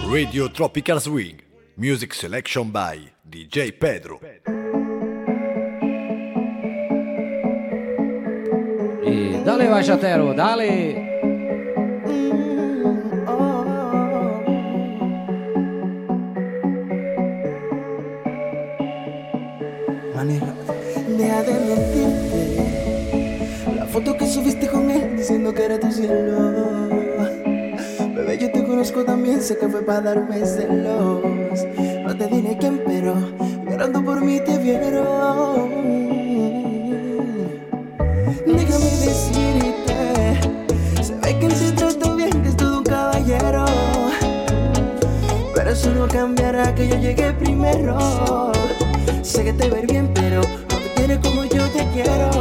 Radio Tropical Swing, music selection by D J Pedro. E dale bachatero, dale. Deja de mentirte. La foto que subiste con él diciendo que era tu cielo. Bebé, yo te conozco también, sé que fue para darme celos. No te diré quién, pero llorando por mí te vieron. Déjame decirte, se ve que él se trató bien, que es todo un caballero. Pero eso no cambiará que yo llegué primero. Sé que te ver bien, pero no te quiere como yo te quiero.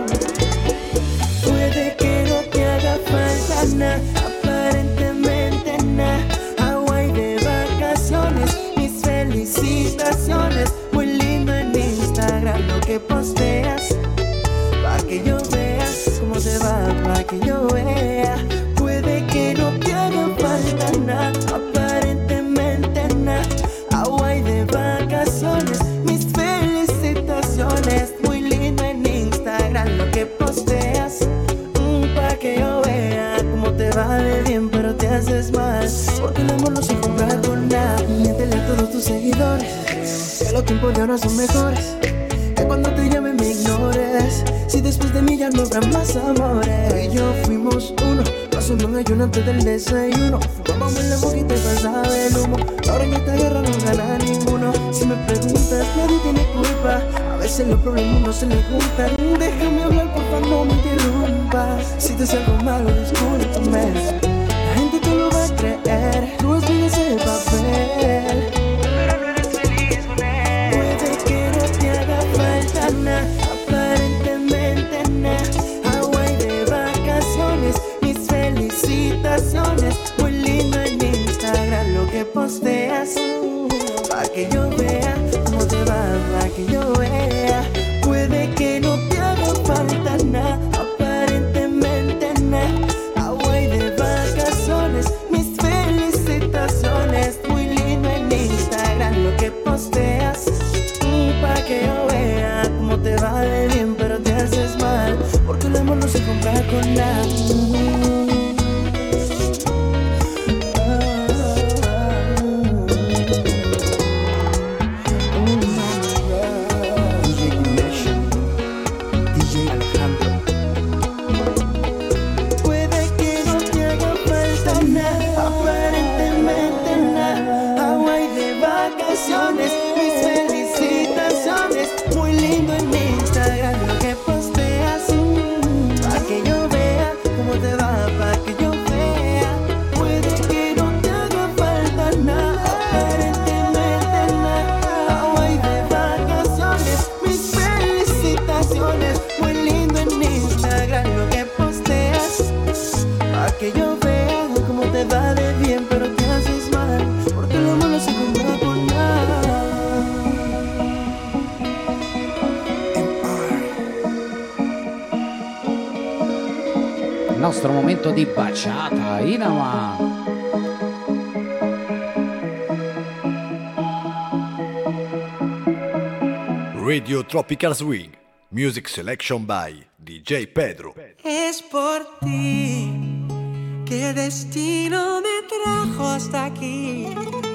Puede que no te haga falta nada, aparentemente nada. Hawaii de vacaciones, mis felicitaciones. Muy lindo en Instagram lo que posteas, pa' que yo vea cómo te va, pa' que yo vea. Puede que no te haga falta nada, aparentemente nada. Hawaii de vacaciones, mis felicitaciones. Muy lindo en Instagram lo que posteas, mm, pa' que yo vea cómo te va de bien, pero te haces mal. Porque el amor no se compra con nada. Miéntele a todos tus seguidores que los tiempos de ahora son mejores, que cuando te llame me ignores. Si después de mí ya no habrá más amores. Tú y yo fuimos uno, pasó un ayuno antes del desayuno. Fumamos en la boquita y pasaba el humo. Ahora en esta guerra no gana ninguno. Si me preguntas, nadie tiene culpa. A veces los problemas no se les juntan. Déjame hablar, por favor, no me interrumpas. Si te hace algo malo, discúlpame. La gente te lo va a creer. Tú estudias ese papel, pero no eres feliz con él. Puede que no te haga falta nada, aparentemente nada. Hawaii de vacaciones, mis felicitaciones. Muy lindo en Instagram lo que posteas, pa' que yo vea cómo te va, pa' que yo vea. Puede que no te haga falta nada, aparentemente nada. Hawaii de vacaciones, mis felicitaciones. Muy lindo en Instagram lo que posteas, mm, pa' que yo vea cómo te va de bien, pero te haces mal. Porque el amor no se compra con nada. Mis felicitaciones, muy lindo en Instagram lo que posteas, pa' que yo vea cómo te va, pa' que yo vea. Puede que no te haga falta nada, aparentemente nada. Hawaii de vacaciones, mis felicitaciones, muy lindo en Instagram lo que posteas, pa' que yo vea cómo te va de bien, pero te haces mal, porque el amor no se compra por nada. Il nostro momento di baciata, Inama. Radio Tropical Swing, music selection by D J Pedro. Es por ti que el destino me trajo hasta aquí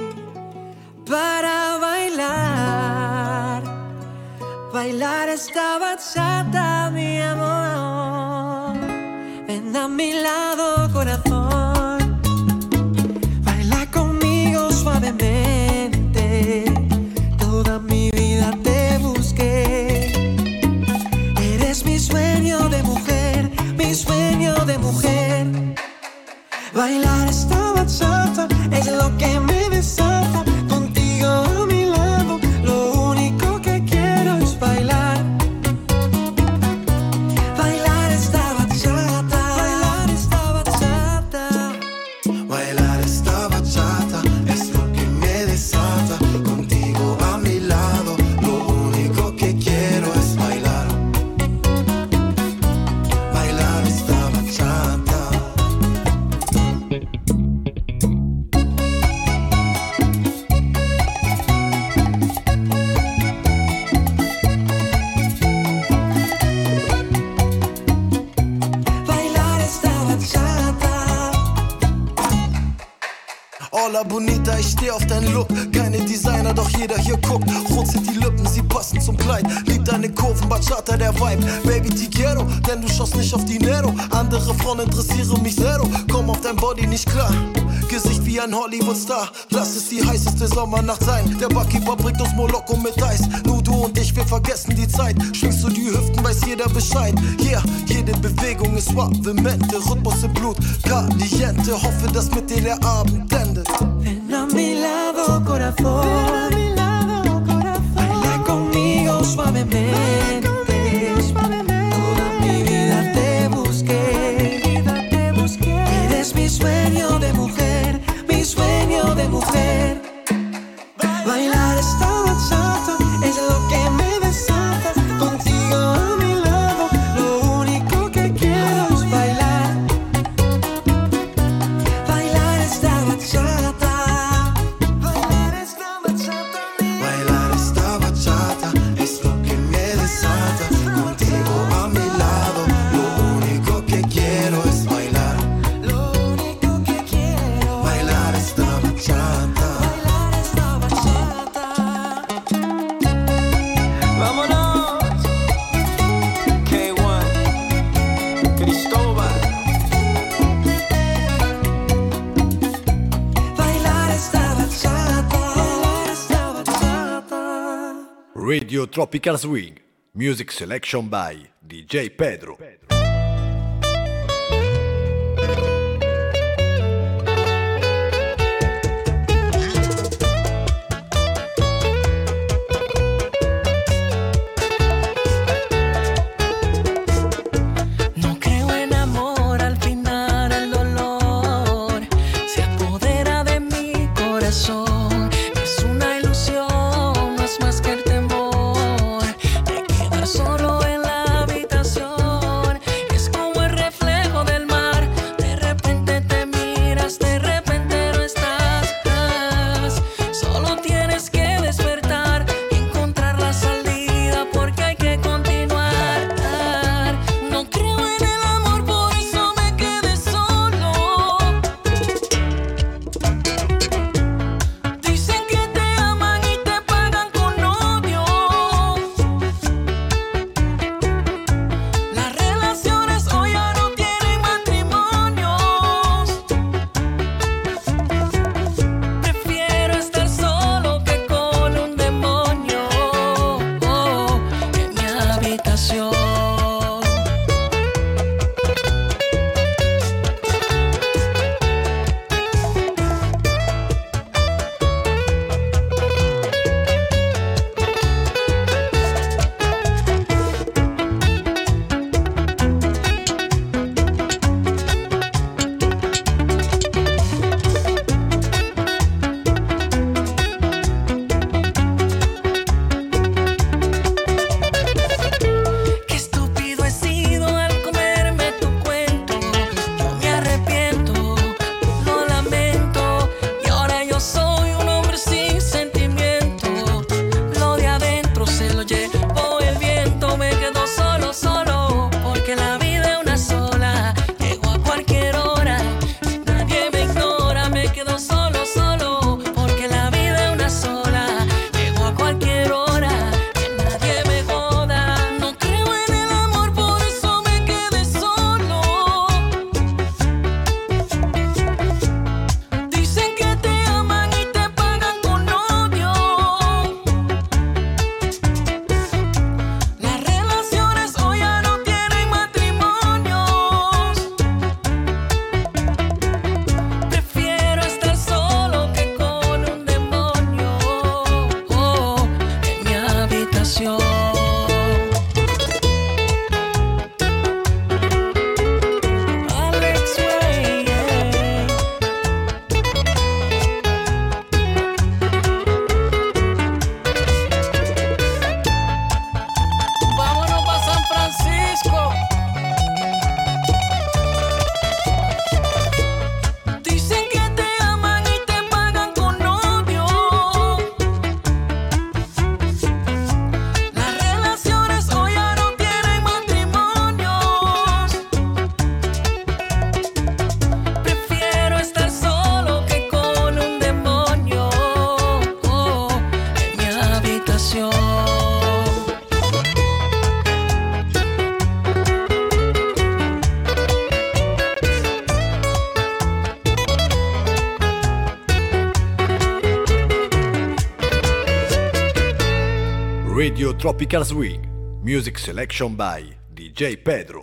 para bailar, bailar esta bachata, mi amor. Ven a mi lado, corazón, baila conmigo suavemente. Toda mi vida te busqué. Eres mi sueño de mujer, mi sueño de mujer. Bailar esta bachata es lo que me desata. Contigo a mi lado, lo único que quiero es bailar. Bailar esta bachata, bailar esta bachata. Bailar esta bachata es lo que me desata. Contigo a mi lado, lo único que quiero es bailar. Bailar esta bachata. Hola Bonita, ich steh auf deinen Look. Keine Designer, doch jeder hier guckt. Rot sind die Lippen, sie passen zum Kleid. Lieb deine Kurven, Bachata, der Vibe. Baby, te quiero, denn du schaust nicht auf Dinero. Andere Frauen interessieren mich zero. Komm auf dein Body nicht klar. Gesicht wie ein Hollywood-Star. Lass es die heißeste Sommernacht sein. Der Barkeeper bringt uns Moloko mit Eis. Nur du und ich, wir vergessen die Zeit. Schwingst du die Hüften, weiß jeder Bescheid. Yeah, jede Bewegung ist suavemente. Rhythmus im Blut, caliente. Hoffe, dass mit dir der Abend endet. Ven a mi lado, corazón. Baila conmigo suavemente. Toda mi vida te busqué. Eres mi sueño de mujer, mi sueño de mujer. Bailar esta bachata es lo que me desata. Contigo a mi lado, lo único que quiero es bailar. Bailar esta bachata. Bailar esta bachata. Bailar esta bachata es lo que me desata. Contigo a mi lado, lo único que quiero es bailar. Lo único que quiero. Bailar esta bachata. Bailar esta bachata. Vámonos. K uno. Cristóbal. Bailar esta bachata. Bailar esta bachata. Radio Tropical Swing. Music selection by D J Pedro. No creo en amor, al final el dolor se apodera de mi corazón. Es una ilusión, no es más que el temor de quedar solo en la habitación. Radio Tropical Swing, music selection by D J Pedro.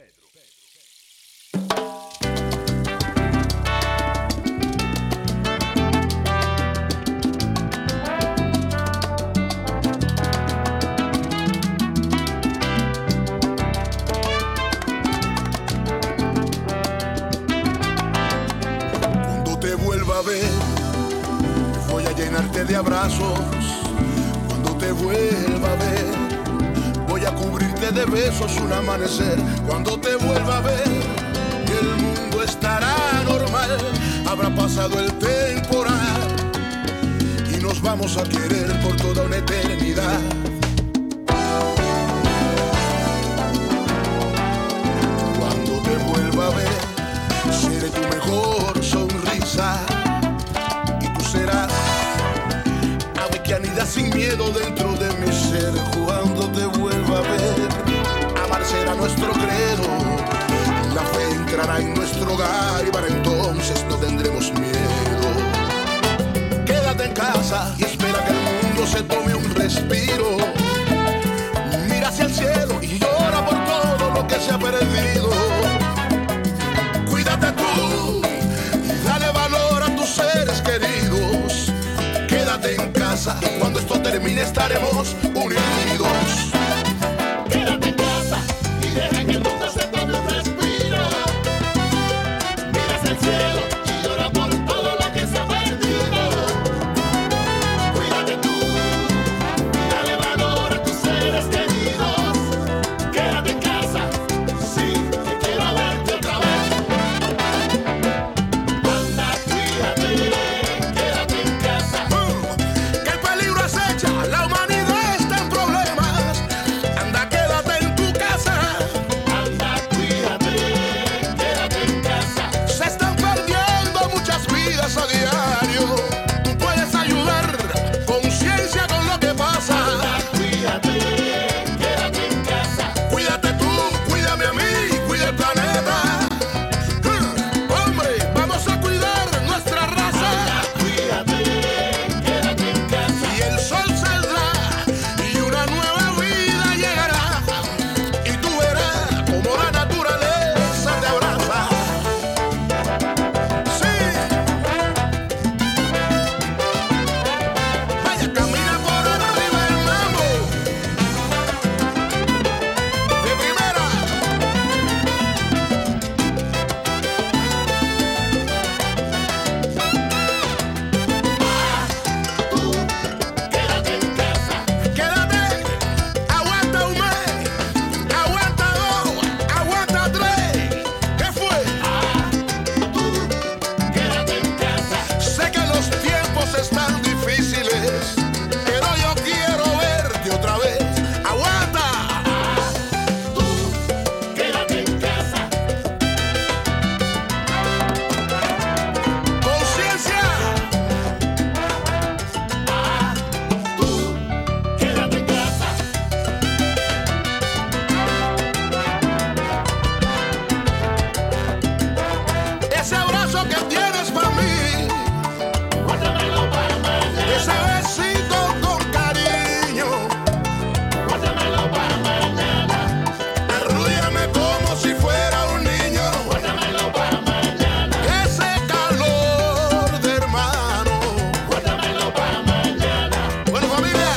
Cuando te vuelva a ver, voy a llenarte de abrazos. Cuando te vuelva a ver, voy a cubrirte de besos un amanecer. Cuando te vuelva a ver, el mundo estará normal. Habrá pasado el temporal y nos vamos a querer por toda una eternidad. Cuando te vuelva a ver, seré tu mejor sonrisa y tú serás ave que anida sin miedo dentro de mi ser. Cuando te vuelva a ver, amar será nuestro credo, la fe entrará en nuestro hogar y para entonces no tendremos miedo. Quédate en casa y espera que el mundo se tome un respiro. Mira hacia el cielo y llora por todo lo que se ha perdido. Cuídate tú y dale valor a tus seres queridos. Quédate en casa, cuando esto termine estaremos unidos. Quédate en casa y deja que el mundo se tome un respiro. Mira hacia el cielo y llora por todo lo que se ha perdido. Cuídate tú y dale valor a tus seres queridos. Quédate en casa, sí, que quiero verte otra vez. Anda, cuídate, quédate en casa. Que el peligro acecha, la humanidad está en problemas. Anda, quédate en tu casa. Anda, cuídate, quédate en casa. Se están perdiendo muchas vidas a diario. Tú puedes ayudar, conciencia con lo que pasa. Anda, cuídate, quédate en casa. Cuídate tú, cuídame a mí, cuida el planeta. Hmm, Hombre, vamos a cuidar nuestra raza. Anda, cuídate, quédate en casa. Y el sol saldrá y una nueva vida llegará. Y tú verás como la naturaleza te abraza. Sí. Vaya, camina por arriba el mambo. De primera. Tú, quédate en casa. Quédate, aguanta un mes, aguanta dos, aguanta tres. ¿Qué fue? Tú, quédate en casa. Sé que los tiempos están difíciles, pero yo quiero verte otra vez. Aguanta. Tú, quédate en casa. Conciencia. Tú, quédate en casa. Ese abrazo que tienes para mí, guárdamelo para mañana. Ese besito con cariño, guárdamelo para mañana. Arrúllame como si fuera un niño, guárdamelo para mañana. Ese calor de hermano, guárdamelo para mañana. Bueno, familia,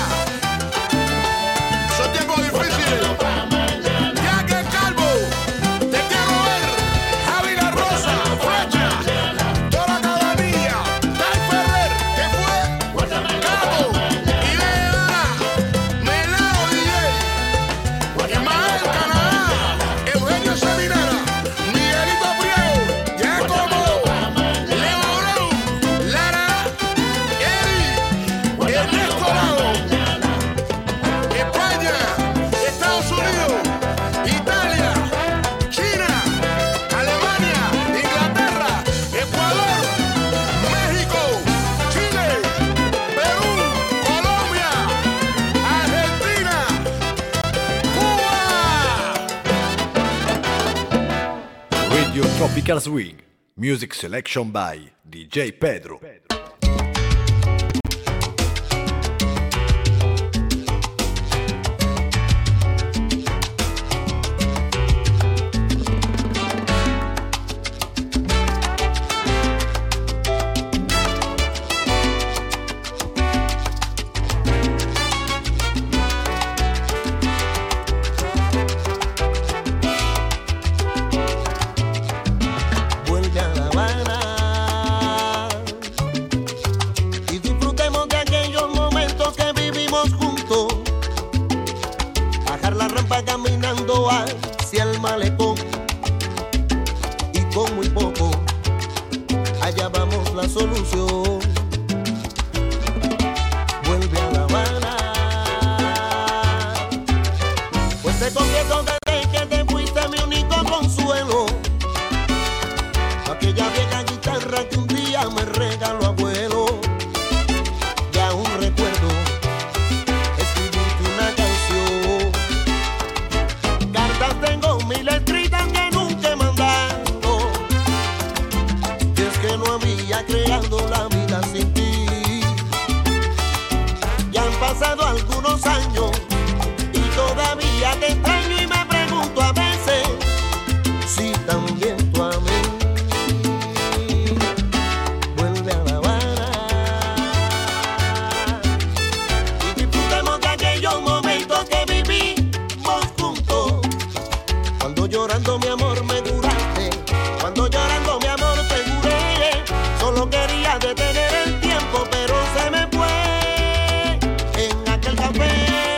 son tiempos difíciles. Ya que Calvo, te quiero ver. Javi La Rosa, Flecha, toda la cabanilla, Tai Ferrer, ¿qué fue? Cabo, Ibeana, Melao D J, Ismael Canadá, Eugenio Seminara, Miguelito Priego, Giacomo, Leo Brown, Lara, Eri, Ernesto Lado, España, Estados Unidos, Italia, China, Alemania, Inglaterra, Ecuador, México, Chile, Perú, Colombia, Argentina, Cuba. Radio Tropical Swing, music selection by D J Pedro. solución. Vuelve a La Habana, pues te confieso desde que te fuiste mi único consuelo. Aquella vieja guitarra que un día me regaló abuelo. Y aún recuerdo escribirte una canción. Cartas tengo mil escritas que nunca he mandado. Y es que no había creado la vida sin ti. Ya han pasado algunos años y todavía te extraño y me pregunto a veces si también tú a mí. Vuelve a La Habana y disfrutemos de aquellos momentos que vivimos juntos. Cuando llorando mi amor me curaste, cuando llorando mi amor te curé. Solo quería detener el tiempo, pero se me fue en aquel café.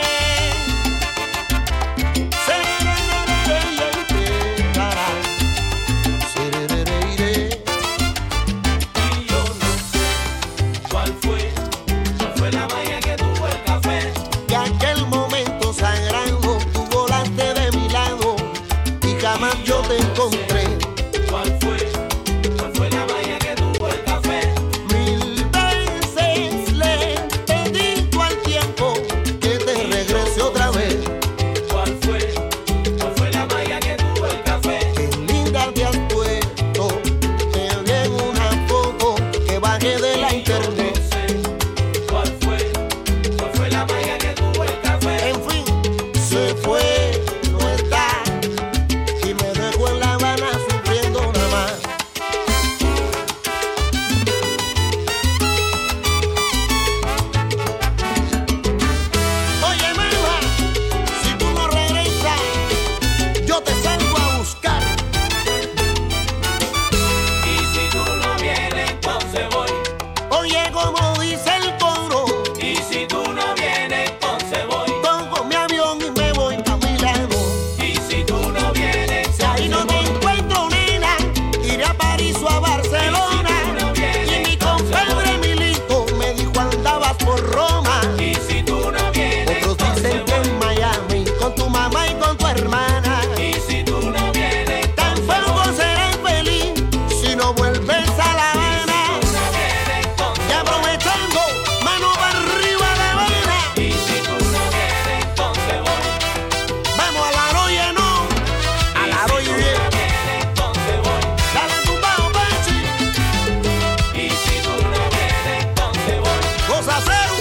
Y yo no sé cuál fue, cuál fue la magia que tuvo el café. Y aquel momento sagrado tú volaste de mi lado y jamás yo te encontré. ¿Cuál fue, cuál fue la magia que tuvo el café? Mil veces le pedí tú al tiempo que te regrese otra vez. ¿Cuál fue, cuál fue la magia que tuvo el café? Qué linda te has puesto, te vi en una foto que bajé de la internet. ¿Cuál fue, cuál fue la magia que tuvo el café? En fin, se fue, no está, y me dejó en La Habana sufriendo nada más. Oye, Melba, si tú no regresas, yo te salgo a buscar. Y si tú no vienes, entonces voy. Oye, como dice el coro, Y si tú no vienes, entonces voy. tomo mi avión y me voy a Milano. Y si tú no vienes, Si ahí no te encuentro, nena, iré a París o a Barcelona. Y mi compadre Milito me dijo andabas por Roma. y si tú no vienes, Otros dicen que en Miami, con tu mamá y con tu hermana. y si tú no vienes, Tampoco serás feliz si no vuelves a La Habana. Y aprovechando, mano para arriba La Habana. y si tú no vienes, entonces voy. Vamos a la Roya, no, a la Roya bien. Entonces voy. Dale tu bajo, Pachi. Y si tú no vienes, entonces voy. Cosa cero.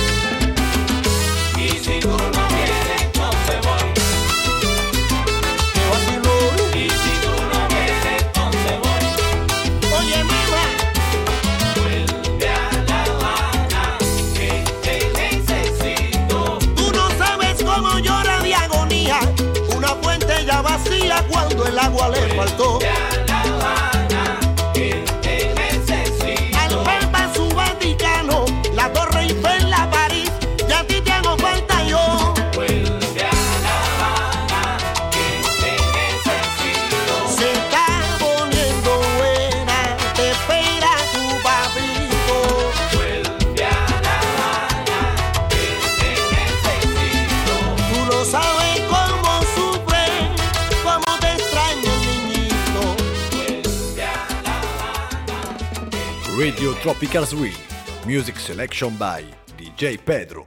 Y si tú no vienes, entonces voy. Que vacilón. Y si tú no vienes, entonces voy. Oye, Melba, Vuelve a La Habana, que te necesito. tú no sabes cómo llora de agonía una fuente ya vacía cuando el agua le faltó. Vuelve a La Habana, que te necesito. Al Papa su Vaticano, la Torre Eiffel, la París, y a ti te hago falta yo. Vuelve a La Habana, que te necesito. Se está poniendo buena, te espera tu papito. Vuelve a La Habana, que te necesito. Tú no sabes cómo sufre, cómo te extraña el niñito. Vuelve a La Habana. Radio Tropical Swing. Music selection by D J Pedro.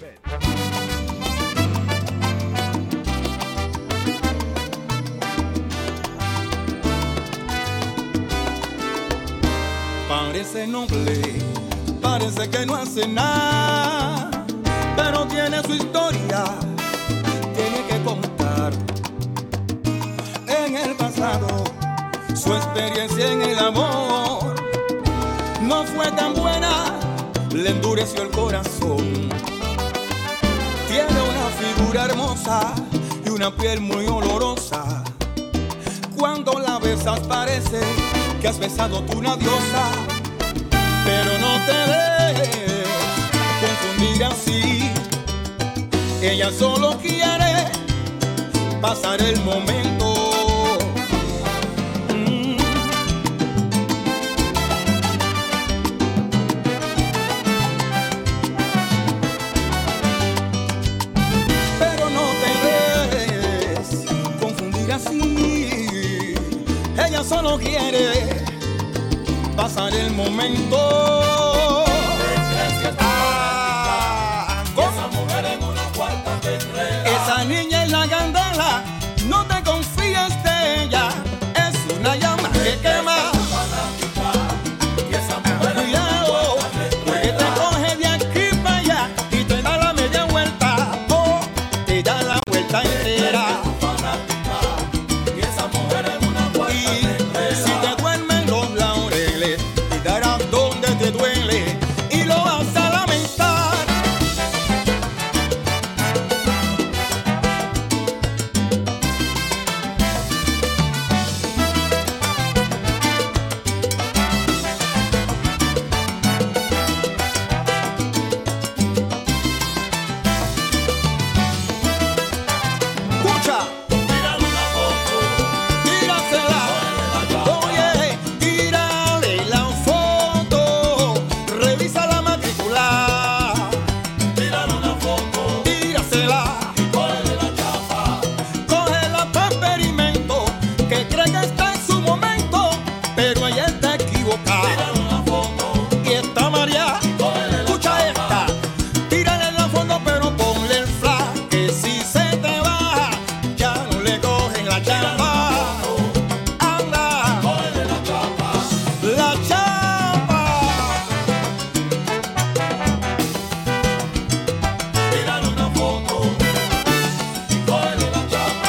Parece noble, parece que no hace nada, pero tiene su historia, tiene que contar. En el pasado, su experiencia en el amor no fue tan buena, le endureció el corazón. Tiene una figura hermosa y una piel muy olorosa. Cuando la besas parece que has besado tú una diosa, pero no te dejes confundir así. Ella solo quiere pasar el momento. Mm. pasar el momento. Ah, ¿cómo? Esa mujer en una cuarta te enreda. Esa niña es la candela, no te confíes de ella, es una llama que quema. Y esa mujer en una Cuidado, porque te coge de aquí para allá y te da la media vuelta, oh, te da la vuelta entera. Y esa mujer en una cuarta Y te enreda. si te duermen los laureles, te darás donde te duele y lo vas a lamentar. Escucha. Tírale una foto. Tírasela, oye, tírale la foto, revisa la matrícula, Tírale una foto. tírasela, Y cógele la chapa. cógela pa' experimento, que cree que está en su momento, pero ella está equivocada. Tírale una foto. Y está María, escucha esta, tírale la foto pero ponle el flash, que si se te baja, ya no le cogen la chapa. Anda, Cógele la chapa. la chapa. Tírale una foto. Y cógele la chapa.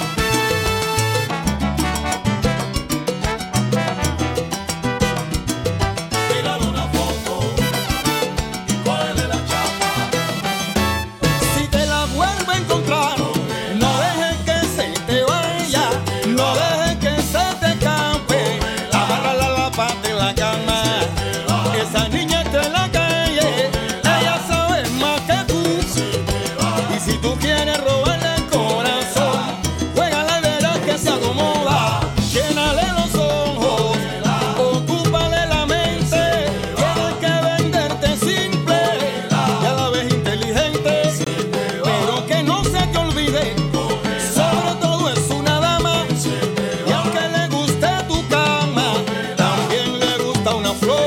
Tírale una foto. Y cógele la chapa. Si te la vuelve a encontrar, no dejes que se te vaya, no dejes que se te escape. Amárrala a la pata de la cama. Esa niña está en la calle, ella sabe más que tú. Y si tú quieres robarle el corazón, juégale y verás que se acomoda. Llénale los ojos, ocúpale la mente. Tienes que venderte simple y a la vez inteligente, pero que no se te olvide, sobre todo es una dama. Y aunque le guste tu cama, también le gusta una flor.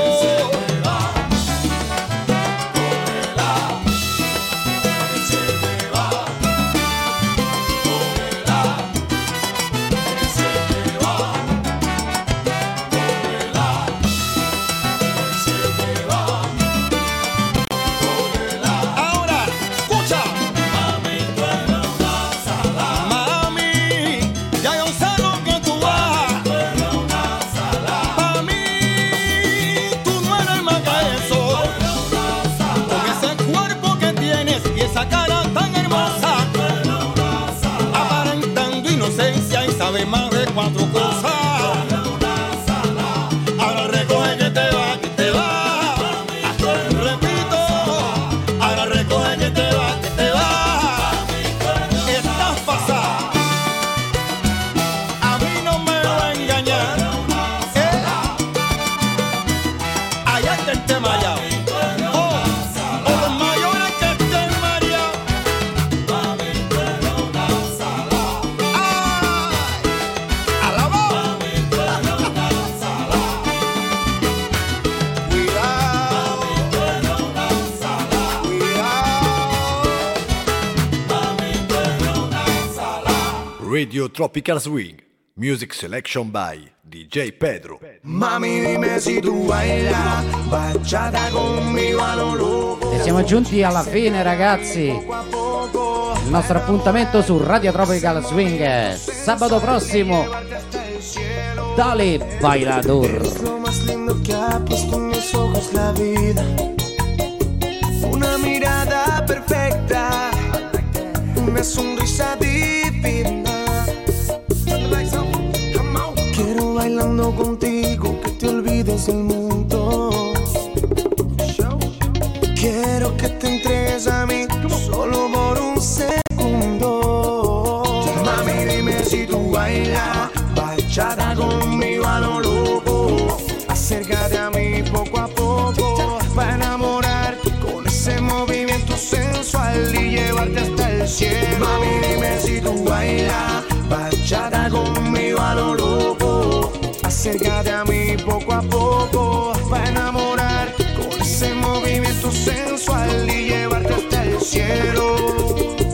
Ahora, escucha. Mami, ya yo sé lo que tú vas. Pa' mí, tú no eres más que eso. Con ese cuerpo que tienes y esa cara tan hermosa, aparentando inocencia y sabe más de cuatro cosas. Ahora recoge que te va, que te va. Repito, ahora recoge que te va, que te va. Estás pasada, a mí no me va a engañar. Eh, allá está el tema ya. Oh, o los mayores que estén mareados. Ay, a la voz. Radio Tropical Swing. Music selection by D J Pedro. Mami, dime si tu bailas bachata conmigo a lo loco. E siamo giunti alla fine, ragazzi. Il nostro appuntamento su Radio Tropical Swing sabato prossimo. Dale bailador. Lo más lindo que ha puesto en mis ojos la vida. Una mirada perfecta, una sonrisa divina. Quiero bailando contigo que te olvides del mundo. Quiero que te entregues a mí solo por un segundo. Mami, dime si tú bailas bachata conmigo a lo loco. Acércate a mí poco a poco para enamorarte con ese movimiento sensual y llevarte hasta el cielo. Mami, dime si tú bailas bachata conmigo a lo loco. Acércate a mí poco a poco movimiento sensual y llevarte hasta el cielo.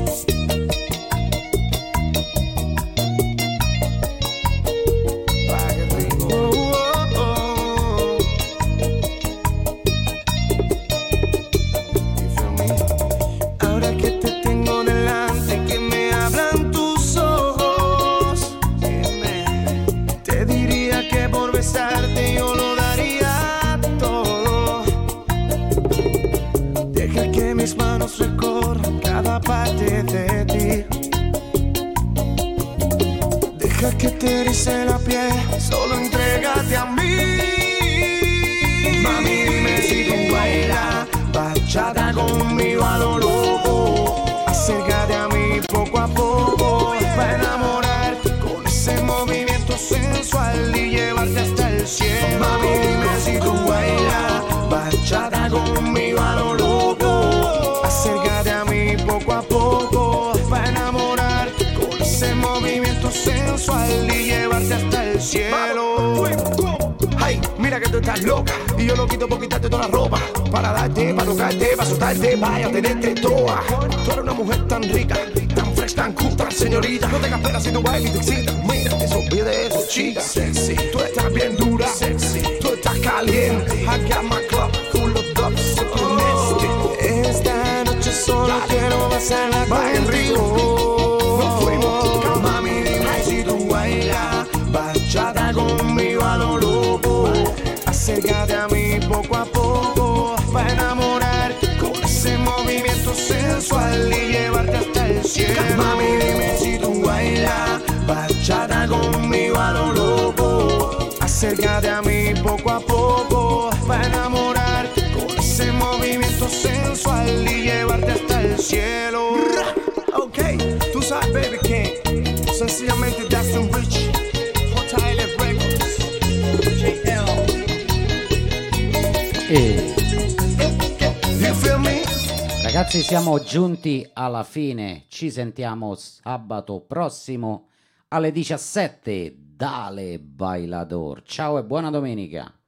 Yo lo daría todo. Deja que mis manos recorran cada parte de ti. Deja que te erice la piel, solo entrégate a mí. Mami, dime si tú bailas bachata conmigo a lo loco. Acércate a mí poco a poco para enamorar con ese movimiento sensual y llevarte hasta el cielo. Mami, dime si tú bailas bachata conmigo a lo loco. Acércate a mí poco a poco para enamorar con ese movimiento sensual y llevarte hasta el cielo. Ay, mira que tú estás loca y yo lo quito por quitarte toda la ropa, para darte, para tocarte, para soltarte, para tenerte toda. Tú eres una mujer tan rica, tan fresh, tan cool, tan señorita. No tengas pena si tú bailas y te excitas. Mira, que se olvide de eso, chica. Sexy, tú estás bien dura. Sexy, tú estás caliente. I got my club full of dubs, super nasty. Esta noche solo quiero pasarla contigo. Nos fuimos, mami, dime si tú bailas bachata conmigo a lo loco. Acércate a mí poco a poco para enamorar con ese movimiento sensual y llevarte hasta el cielo. Mami, dime si tú bailas bachata conmigo a lo loco. Acércate a mí poco a poco para enamorar con ese movimiento sensual y llevarte hasta el cielo. Ok, tú sabes, baby, que sencillamente that's un rich Hot Island Records, J L. E You feel me? ragazzi, siamo giunti alla fine. Ci sentiamo sabato prossimo alle diciassette. Dale Bailador. Ciao e buona domenica.